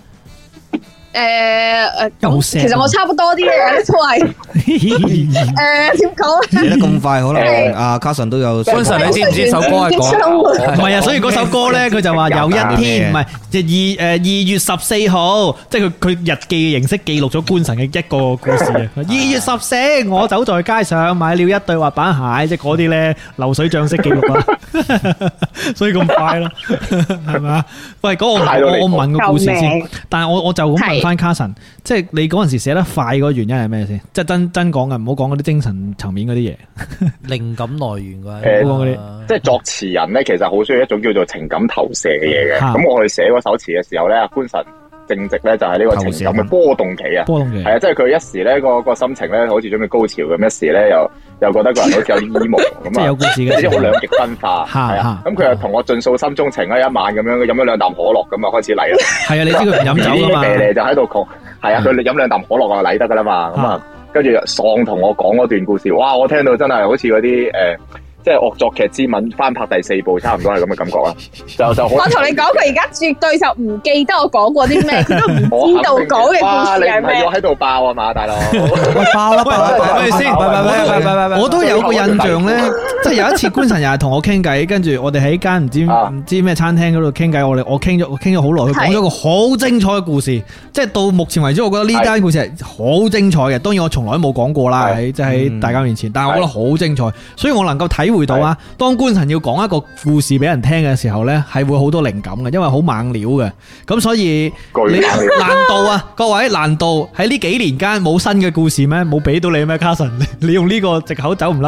其實我差不多啲嘢都係點講咧？ 寫得咁快，可能阿 Carson 都有。 Carson，你知唔知首歌係講？ 唔係啊，所以嗰首歌咧，佢就話有一天，唔係就2月14號，即係佢日記嘅形式記錄咗官神嘅一個故事啊。2月14，我走在街上買了一對滑板鞋，即係嗰啲咧流水賬式記錄啊。所以咁快咯，係咪啊？喂，嗰個我問個故事先，但係我就咁問翻 Carson，即係你嗰陣時寫得快嗰個原因係咩先？即係真講嘅，唔好講嗰啲精神層面嗰啲嘢。靈感來源啲，即係作詞人咧，其實好需要一種叫做情感投射嘅嘢嘅。咁我哋寫嗰首詞嘅時候咧，官神正值咧就係呢個情感嘅波動期啊，係啊，即係佢一時咧個心情咧好似準備高潮咁，一時咧又覺得個人好似有啲 emo 咁啊， 即係有故事嘅， 即係好兩極分化，係啊。咁佢又同我盡訴心中情啊，一晚咁樣，佢飲咗2啖可樂咁啊，開始嚟啦。係啊， 你知佢唔飲酒噶嘛？ 就喺度講，係啊，佢飲2啖可樂就嚟得噶啦嘛。咁啊，跟住喪同我講嗰段故事，哇！我聽到真係好似嗰啲即係惡作劇之吻翻拍第4部，差唔多係咁嘅感覺啦。就我同你講，佢而家絕對就唔記得我講過啲咩，佢都唔知道講嘅故事係咩。 你唔係要喺度爆啊嘛，大佬？ 爆啦，咪先？我都有個印象咧，即係有一次官神又係同我傾偈，跟住我哋喺間唔知咩餐廳嗰度傾偈，我傾咗好耐，佢講咗個好精彩嘅故事，即係到目前為止，我覺得呢單故事係好精彩嘅。當然我從來都冇講過啦，即係喺大家面前，但係我覺得好精彩，所以我能夠體會到啊，當官神要講一個故事俾人聽嘅時候呢，係會好多靈感嘅，因為好猛料嘅。咁所以你難道啊，各位難道喺呢幾年間冇新嘅故事咩？冇俾到你咩？卡神，你用呢個藉口走唔甩？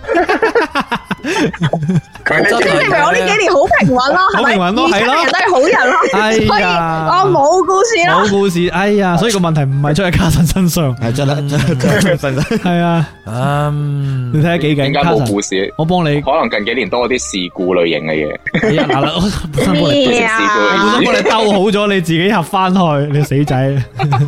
即係證明我呢幾年好平穩咯，好平穩咯，係咯，人都係好人咯，所以我冇故事咯，冇故事， 哎呀，所以個問題唔係出喺卡神身上，係真係啊，你睇下幾勁， 點解冇故事？ 我幫你， 可能近幾年多啲事故類型嘅嘢。 嗱啦，我本身幫你兜好咗，你自己合翻去，你死仔。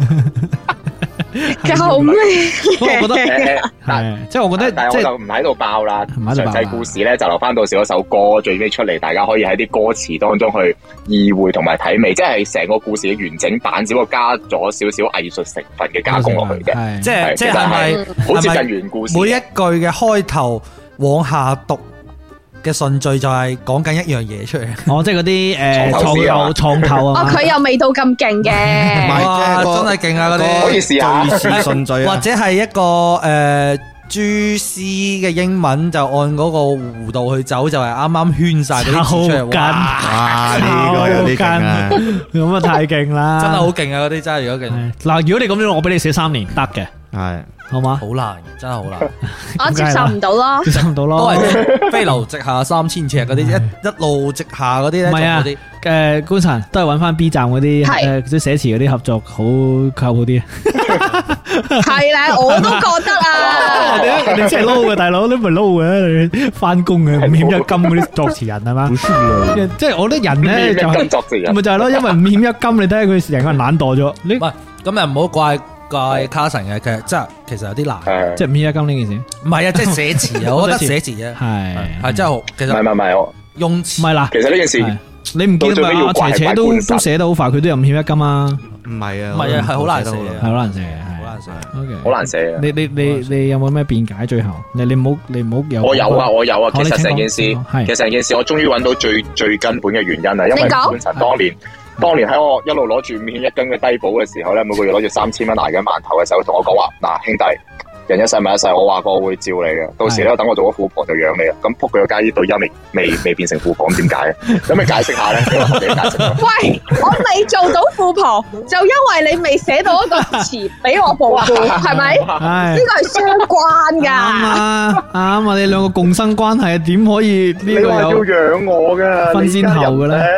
救命！ 我覺得係，即係我覺得， 但係我就唔喺度爆啦。詳細故事咧就留翻到時嗰首歌最尾出嚟，大家可以喺啲歌詞當中去意會同埋體味，即係成個故事嘅完整版，只不過加咗少少藝術成分嘅加工落去嘅。 即係咪好接近原故事？ 每一句嘅開頭往下讀嘅順序就係講緊一樣嘢出嚟。 哦，即係嗰啲創頭啊。 哦，佢又未到咁勁嘅。 哇，真係勁啊！嗰啲可以試下順序，或者係一個蛛絲嘅英文，就按嗰個弧度去走，就係啱啱圈晒嗰啲字出嚟。 哇！呢個有啲勁啊！咁啊太勁啦！ 真係好勁啊！嗰啲真係如果勁。 嗱，如果你咁樣，我俾你寫3年得嘅。係。好嘛？ 好難，真係好難。 我接受唔到咯， 接受唔到咯。 都係飛流直下3000尺嗰啲，一路直下嗰啲咧。 唔係啊，官神都係揾翻 B 站嗰啲啲寫詞嗰啲合作好靠譜啲。 係啦，我都覺得啊。 你真係撈嘅大佬，你唔係撈嘅，你翻工嘅5險1金嗰啲作詞人係嘛？即係我覺得人咧就咪就係咯，因為5險1金，你睇下佢成個人懶惰咗。你喂，咁又唔好怪卡神嘅，其實有啲難， 即係5險1金呢件事。 唔係啊，即係寫詞啊，我覺得寫詞啫，係真係好。其實唔係我用詞唔係啦。 其實呢件事你唔見啊？阿斜斜都寫得好快，佢都有5險1金啊。 唔係啊，係好難寫嘅， 係好難寫嘅， 好難寫。 OK， 好難寫嘅。 你有冇咩辯解？最後你唔好有。 我有啊。其實成件事，我終於揾到最根本嘅原因啦。因為本身當年喺我一路攞住5險1金嘅低保嘅時候咧，每個月攞住3000蚊捱緊饅頭嘅時候，同我講話嗱，兄弟，人一世物一世，我話過我會照你嘅，到時咧等我做咗富婆就養你啦。咁仆佢個街呢對音未變成富婆，點解啊？咁你解釋下咧？你解釋。 喂，我未做到富婆，就因為你未寫到一個詞俾我保護，係咪？呢個係相關噶。 啱啊！你兩個共生關係，點可以呢個有？ 你話要養我嘅， 分先後嘅咧？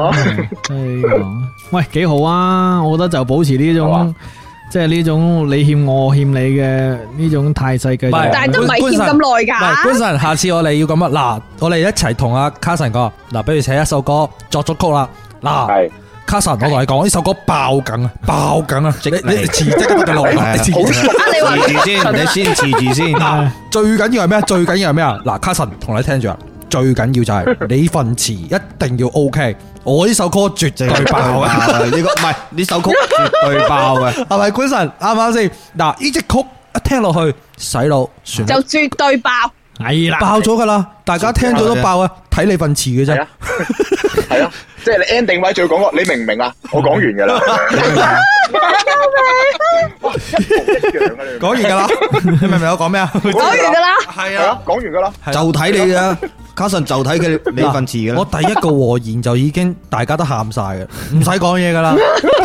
喂，幾好啊！我覺得就保持呢種。即係呢種你欠我欠你嘅呢種態勢嘅， 但係都唔係欠咁耐噶。 唔係，官神，下次我哋要咁啊！嗱，我哋一齊同阿卡神講，嗱，比如寫一首歌作咗曲啦，嗱，卡神，我同你講呢首歌爆緊啊，爆緊啊！你辭職得嘅耐，你辭住先，你先辭住先。最緊要係咩？最緊要係咩啊？嗱，卡神同你聽住啊！最緊要就係你份詞一定要 OK。我呢首歌絕對爆啊！呢個唔係呢首曲絕對爆嘅，係咪官神啱唔啱先？嗱，呢隻曲一聽落去洗腦，算就絕對爆， 係啦， 爆咗噶啦！大家聽咗都爆啊！睇你份詞嘅啫， 係啊，即係你 ending 位最講過，你明唔明啊？我講完噶啦， 講完噶啦，你明唔明我講咩啊？ 講完噶啦， 係啊， 講完噶啦， 就睇你嘅。卡神就睇佢你份詞嘅，我第一個和言就已經大家都喊晒嘅，唔使講嘢噶啦。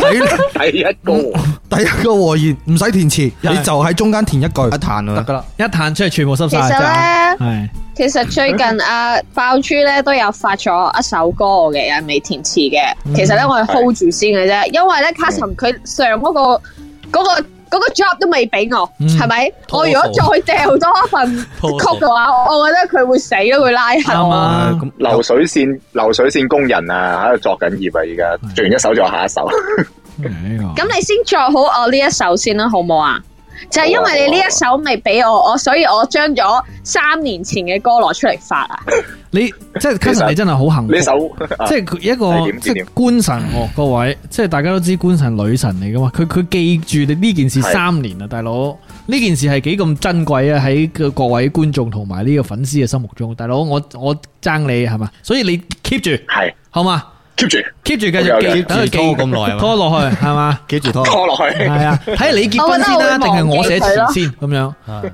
第一個和言唔使填詞，你就喺中間填一句，一彈得噶啦， 一彈出嚟全部濕晒。 其實咧，其實最近阿爆珠咧都有發咗一首歌嘅，又未填詞嘅。其實咧我係 hold 住先嘅啫，因為咧卡神佢上嗰個 job 都未俾我，係咪？我如果再掉多一份曲嘅話，我覺得佢會死咯，會拉黑我。 咁流水線工人啊，喺度作緊業啊，而家做完一首仲有下一首。 咁你先作好我呢一首先啦，好唔好啊？ 就係因為你呢一首未俾我，所以我將咗3年前嘅歌攞出嚟發啊！ 你即係 Carson， 你真係好幸福。 呢首即係一個即係官神各位，即係大家都知官神女神嚟噶嘛？佢記住你呢件事3年啊，大佬呢件事係幾咁珍貴啊！喺各位觀眾同埋呢個粉絲嘅心目中，大佬我爭你係嘛？所以你 keep 住係好嘛？keep 住繼續等佢記咁耐，拖落去係嘛？記住拖落去係啊！睇下你結婚先啦，定係我寫詞先咁樣？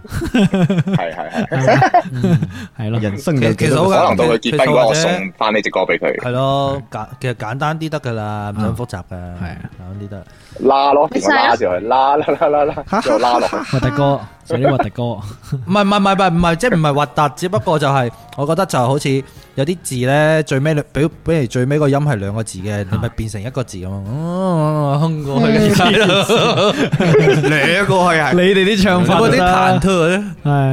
係咯，人生其實可能到佢結婚嗰日，我送翻呢隻歌俾佢。 係咯，其實簡單啲得噶啦，唔使複雜噶，係簡單啲得。 拉咯，拉住佢，拉，就拉落去。 核突歌，寫啲核突歌。 唔係，即係唔係核突，只不過就係我覺得就好似有啲字咧，最尾比如最尾個音係2個字嘅，你咪變成1個字咁啊，哼過去嘅2個係你哋啲唱法嗰啲忐忑咧，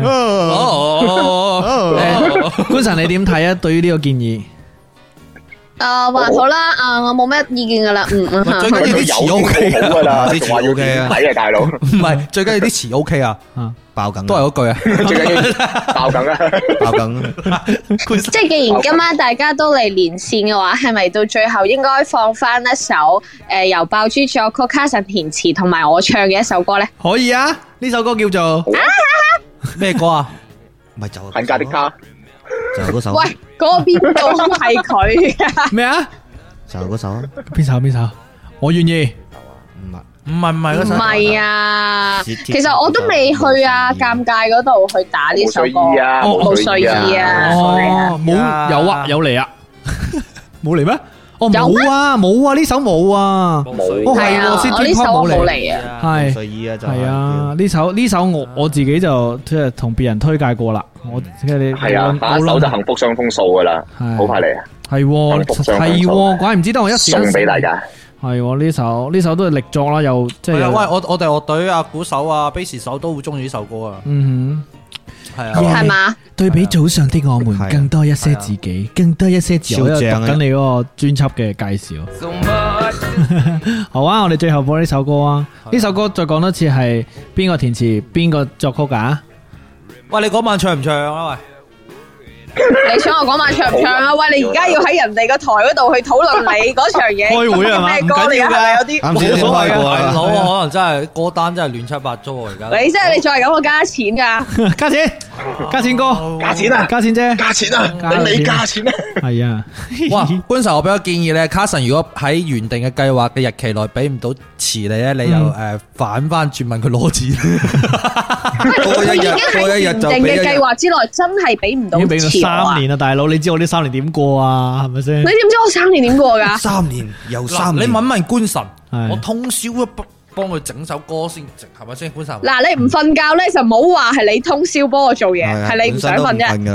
係。官神你點睇啊？對於呢個建議？ 還好啦，我冇咩意見噶啦， 最緊要啲詞 OK 好噶啦， 啲詞 OK 啊， 睇啊大佬， 唔係最緊要啲詞 OK 啊，爆梗都係嗰句啊， 最緊要爆梗啊，爆梗。 即係既然今晚大家都嚟連線嘅話，係咪到最後應該放翻一首由爆珠作曲、Carson填詞同埋我唱嘅一首歌咧？ 可以啊，呢首歌叫做咩歌啊？ 咪就恨嫁的他。 就嗰首。 喂，嗰邊度係佢噶？ 咩啊？ 就嗰首啊？ 邊首？我願意。 唔係嗰首。 唔係啊，其實我都未去啊，尷尬嗰度去打呢首歌。冇睡意啊！ 冇有嚟啊？冇嚟咩？冇啊！呢首冇啊！ 係啊，我呢首冇嚟啊。 係睡意啊，就係啊！呢首我自己就即係同別人推介過啦。我即係你係啊，下一首就幸福雙豐數噶啦，好快嚟啊！ 係，怪唔知得我一時送俾大家。 係呢首都係力作啦，又即係。 喂，我哋樂隊啊，鼓手啊，bass手都好中意呢首歌啊。係啊， 係嘛？ 對比早上的我們，更多一些自己，更多一些自我。讀緊你嗰個專輯嘅介紹。好啊，我哋最後播呢首歌啊！呢首歌再講多次係邊個填詞，邊個作曲噶？ 喂，你嗰晚唱唔唱啊？喂， 你想我嗰晚唱唔唱啊？喂，你而家要喺人哋個台嗰度去討論你嗰場嘢， 開會係嘛？ 咩歌嚟噶？有啲冇所謂噶，大佬可能真係歌單真係亂七八糟啊！而家你即係你再係咁，我加錢噶， 加錢哥， 加錢啊， 加錢啫， 加錢啊，你未加錢啊？ 係啊， 哇！官神，我俾個建議咧，Carson如果喺原定嘅計劃嘅日期內俾唔到詞你咧，你又反翻轉問佢攞錢。 佢已經喺原定嘅計劃之內，真係俾唔到詞 3年啊，大佬，你知我呢3年點過啊？係咪先？ 你點知我3年點過噶 ？3年又3年， 你問問官神，我通宵幫佢整首歌先，係咪先？官神， 嗱，你唔瞓覺咧，就唔好話係你通宵幫我做嘢，係你唔想瞓啫。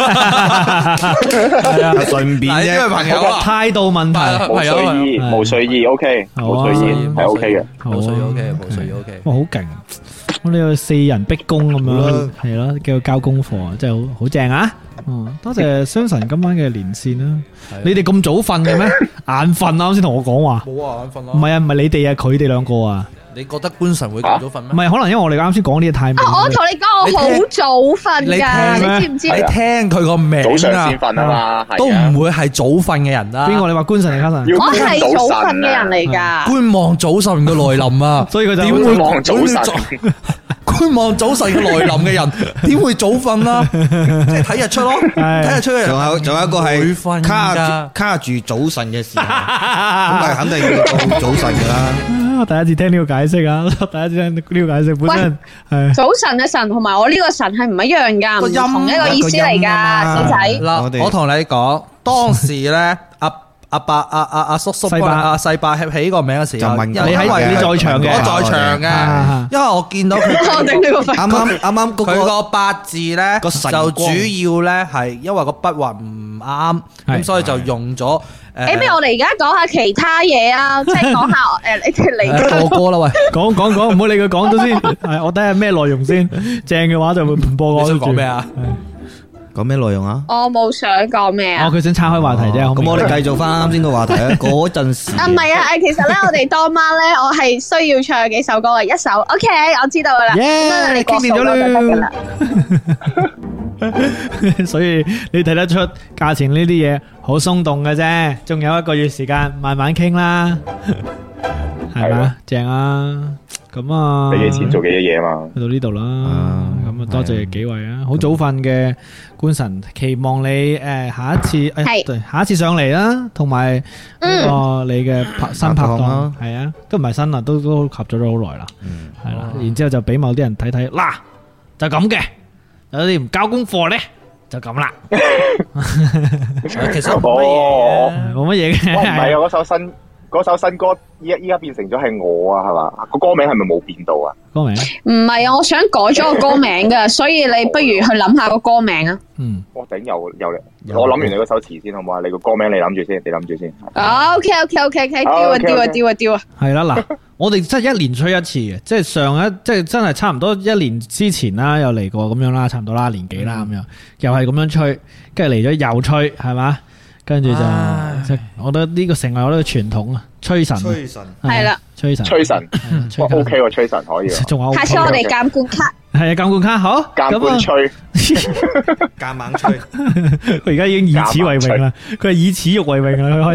順便啫， 因為朋友態度問題， 冇睡意 OK，冇睡意係 OK 嘅， 冇睡意 OK。 哇，好勁！我呢個4人逼宮咁樣，係咯，叫佢交功課，真係好正啊！多謝雙神今晚嘅連線啦。你哋咁早瞓嘅咩？眼瞓啊！啱先同我講話。冇啊，眼瞓咯。唔係啊，唔係你哋啊，佢哋2個啊。 你覺得官神會咁早瞓咩？ 唔係，可能因為我哋啱先講呢個太。 我同你講，我好早瞓噶，你知唔知？ 你聽佢個名啊， 早上先瞓啊嘛， 都唔會係早瞓嘅人啦。 邊個？你話官神定卡神？ 我係早瞓嘅人嚟噶。 觀望早晨嘅來臨啊， 所以佢就點會望早晨？ 觀望早晨嘅來臨嘅人，點會早瞓啦？即係睇日出咯，睇日出嘅人。 仲有一個係卡住早晨嘅時候，咁係肯定要到早晨噶啦。 我第一次聽呢個解釋啊！第一次聽呢個解釋本身係早晨嘅神同埋我呢個神係唔一樣噶，唔同一個意思嚟噶，小仔。 嗱，我同你講，當時咧阿伯阿叔叔阿細伯起呢個名嘅時候， 你喺你在場嘅， 我在場嘅，因為我見到佢啱啱佢個八字咧，就主要咧係因為個筆畫唔啱，咁所以就用咗。 不如我哋而家講下其他嘢啊，即係講下你哋嚟播歌啦，喂， 講，唔好理佢講咗先。係我睇下咩內容先，正嘅話就會唔播歌。 你想講咩啊？ 講咩內容啊？ 我冇想講咩啊。 佢想岔開話題啫。 咁我哋繼續翻啱先個話題啊。嗰陣時唔係啊，其實咧，我哋當晚咧，我係需要唱幾首歌嘅，一首 OK， 我知道噶啦。 你傾掂咗啦。所以你睇得出價錢呢啲嘢好鬆動嘅啫，仲有1個月時間，慢慢傾啦，係嘛？正啊！咁啊， 俾幾錢做幾多嘢嘛？ 去到呢度啦，咁啊多謝幾位啊！好早瞓嘅官神，期望你下一次下一次上嚟啦，同埋你嘅新拍檔係啊，都唔係新啦，都合作咗好耐啦，係啦，然之後就俾某啲人睇睇，嗱就咁嘅，有啲唔交功課咧就咁啦。 其實冇乜嘢， 冇乜嘢嘅。 唔係啊，嗰首新歌依家變成咗係我啊，係嘛？個歌名係咪冇變到啊？ 歌名唔係啊，我想改咗個歌名噶，所以你不如去諗下個歌名啊。 我頂又嚟，我諗完你嗰首詞先好唔好啊？你個歌名你諗住先，你諗住先。OK，丟啊！ 係啦，嗱，我哋真係1年吹一次嘅，即係即係真係差唔多1年之前啦，又嚟過咁樣啦，差唔多啦，年幾啦咁樣，又係咁樣吹，跟住嚟咗又吹，係嘛？跟住就，我覺得呢個成為我呢個傳統啊，吹神係啦， 吹神 ，OK 喎，吹神可以。 下次我哋監管卡， 係啊，監管卡好， 監管吹， 夾猛吹， 佢而家已經以此為榮啦，佢係以恥辱為榮啦，佢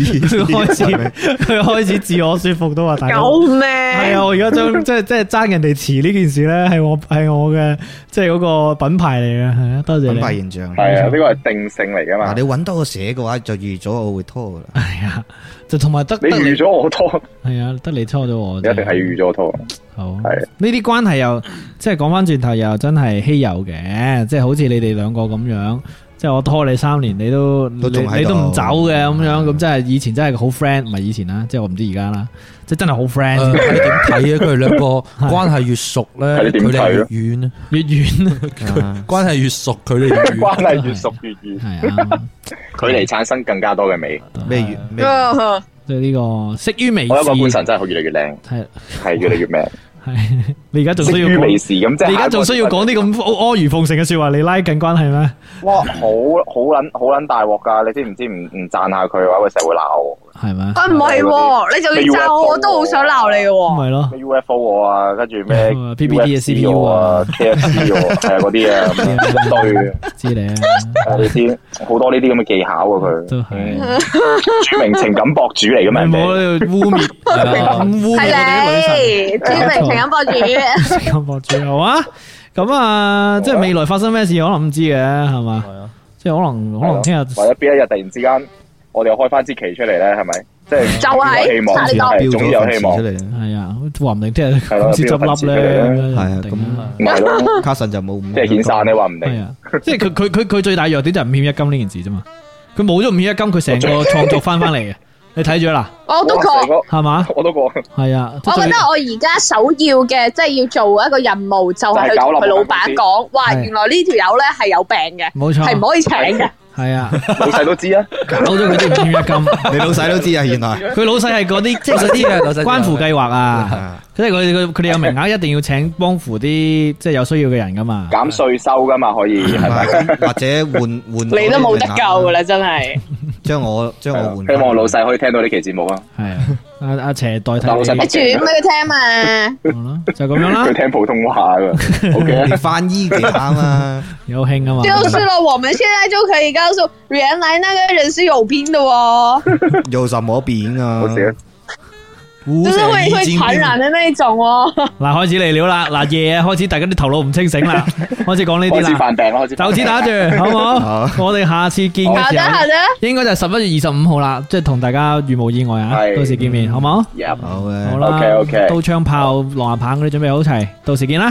開始自我說服都話大佬， 救命！ 係啊，我而家將即係爭人哋詞呢件事咧，係我嘅即係嗰個品牌嚟嘅，係啊，多謝你。 品牌形象係啊，呢個係定性嚟噶嘛。 你搵到我寫嘅話，就預咗我會拖噶啦。 係啊，就同埋得你預咗我拖， 係啊，得你拖咗我， 一定係要預咗我拖。 好，係呢啲關係又即係講翻轉頭又真係稀有嘅，即係好似你哋兩個咁樣，即係我拖你3年，你都唔走嘅咁樣，咁真係以前真係好 friend， 唔係以前啦，即係我唔知而家啦，即係真係好 friend。 你點睇啊？佢哋兩個關係越熟咧，距離越遠啊， 越遠。 關係越熟，距離關係越熟越遠。 係啊， 距離產生更加多嘅美。 咩越？ 即係呢個識於微時。 我一個觀神真係越嚟越靚，係越嚟越靚。 係你而家仲需要微時咁，即係你而家仲需要講啲咁阿諛奉承嘅說話嚟拉近關係咩？ 哇，好撚大鑊噶！你知唔知唔讚下佢嘅話，佢成日會鬧我。 係咩？ 唔係，你就要讚我都好想鬧你嘅。 係咯 ，UFO 我啊，跟住咩 PPT 嘅 CPU 啊 ，KFC 我係啊嗰啲啊，一堆知你啊， 你知好多呢啲咁嘅技巧啊，佢都係著名情感博主嚟嘅咩？ 唔好污衊， 係你著名情感博主， 情感博主好啊！咁啊，即係未來發生咩事可能唔知嘅，係嘛？係啊，即係可能聽日或者邊一日突然之間，我哋又開翻支旗出嚟咧，係咪？即係就係希望，係總之有希望。 係啊，話唔定聽日公司執笠咧， 係啊，咁唔係咯， 卡神就冇， 即係遣散你話唔定。 係啊，即係佢最大弱點就係5險1金呢件事啫嘛。佢冇咗5險1金，佢成個創作翻嚟嘅。你睇咗啦？ 我都過， 係嘛？ 我都過。 係啊， 我覺得我而家首要嘅，即係要做一個任務，就係去同佢老闆講，哇，原來呢條友咧係有病嘅， 冇錯， 係唔可以請嘅。 係啊， 老細都知啊， 搞咗佢啲5險1金， 你老細都知啊，原來佢老細係嗰啲即係嗰啲關乎計劃啊，即係佢哋有名額，一定要請幫扶啲即係有需要嘅人噶嘛， 減稅收噶嘛，可以係咪？ 或者換你都冇得救噶啦，真係。 將我換， 希望老細可以聽到呢期節目啊。 係啊，阿邪代替老細， 你轉俾佢聽嘛。 就咁樣啦。 佢聽普通話噶，OK， 翻譯給他嘛， 有興啊嘛。 就是了，我們現在就可以告訴，原來那個人是有病的哦。 有什麼病啊？ 就是會傳染的那種哦。 嗱，開始嚟料啦，嗱夜開始，大家啲頭腦唔清醒啦，開始講呢啲啦。 開始犯病啦，開始。 就此打住，好唔好？我哋下次見嘅時候，應該就係11月25號啦，即係同大家如無意外啊，到時見面，好唔好？ 好嘅， 好啦 ，OK， 刀槍炮、狼牙棒嗰啲準備好齊，到時見啦。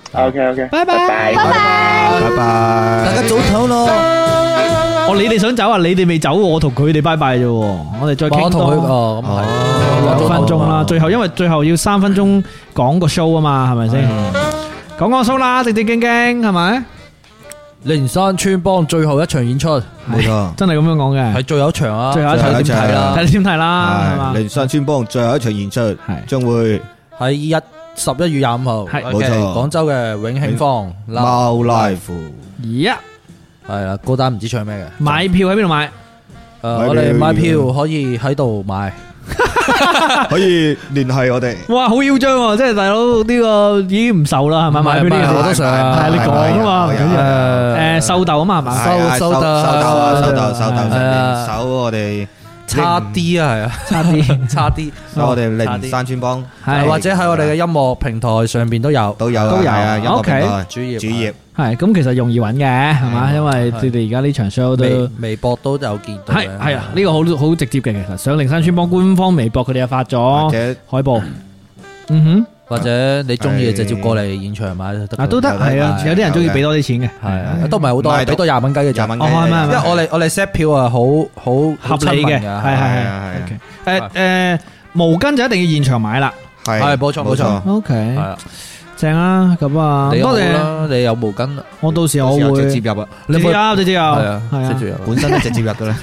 OK， 拜拜， 拜拜， 大家早唞咯。 你哋想走啊？你哋未走，我同佢哋拜拜啫。我哋再傾多6分鐘啦。最後因為最後要3分鐘講個 show 啊嘛，係咪先？講個 show 啦，正正經經係咪？ 靈山村幫最後一場演出， 冇錯， 真係咁樣講嘅， 係最後一場啊！ 最後一場點睇啦？睇你點睇啦？係嘛？ 靈山村幫最後一場演出係將會喺11月25號， 係冇錯， 廣州嘅永慶坊貓 live。 係啦，高單唔知唱咩嘅。 買票喺邊度買？ 我哋買票可以喺度買。 可以聯繫我哋。 哇，好囂張喎！即係大佬呢個已經唔受啦，係咪買票呢個？ 我都想係你講啊嘛，唔緊要。收豆啊嘛，係嘛？ 收豆， 手我哋差啲啊，係啊，差啲。 我哋靈山村幫， 或者喺我哋嘅音樂平台上邊都有啊。音樂平台主頁。 係咁，其實容易揾嘅，係嘛？因為你哋而家呢場 show 都微博都有見到。 係啊，呢個好直接嘅，其實上靈山村幫官方微博，佢哋又發咗海報。 或者你中意直接過嚟現場買都得。係啊，有啲人中意俾多啲錢嘅， 係啊，都唔係好多，俾多20蚊雞嘅咋。因為我哋 set 票啊，好合理嘅，係。毛巾就一定要現場買啦， 係冇錯。 OK，係啊。正啊，咁啊，多謝啦！ 你有毛巾， 我到時我會直接入啊， 直接入，係啊， 直接入， 本身都直接入噶啦。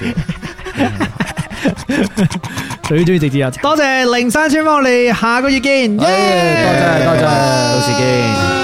最中意直接入，多謝靈山村幫，我哋下個月見， 多謝，到時見。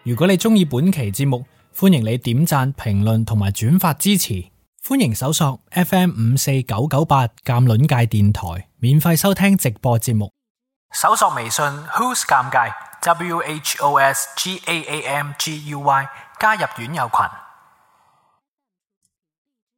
如果你鍾意本期節目，歡迎你點讚、評論同埋轉發支持。歡迎搜索 FM54998 鑑論界電台，免費收聽直播節目。搜索微信 Who's 尷尬 WHOSGAAMGUY 加入院友群。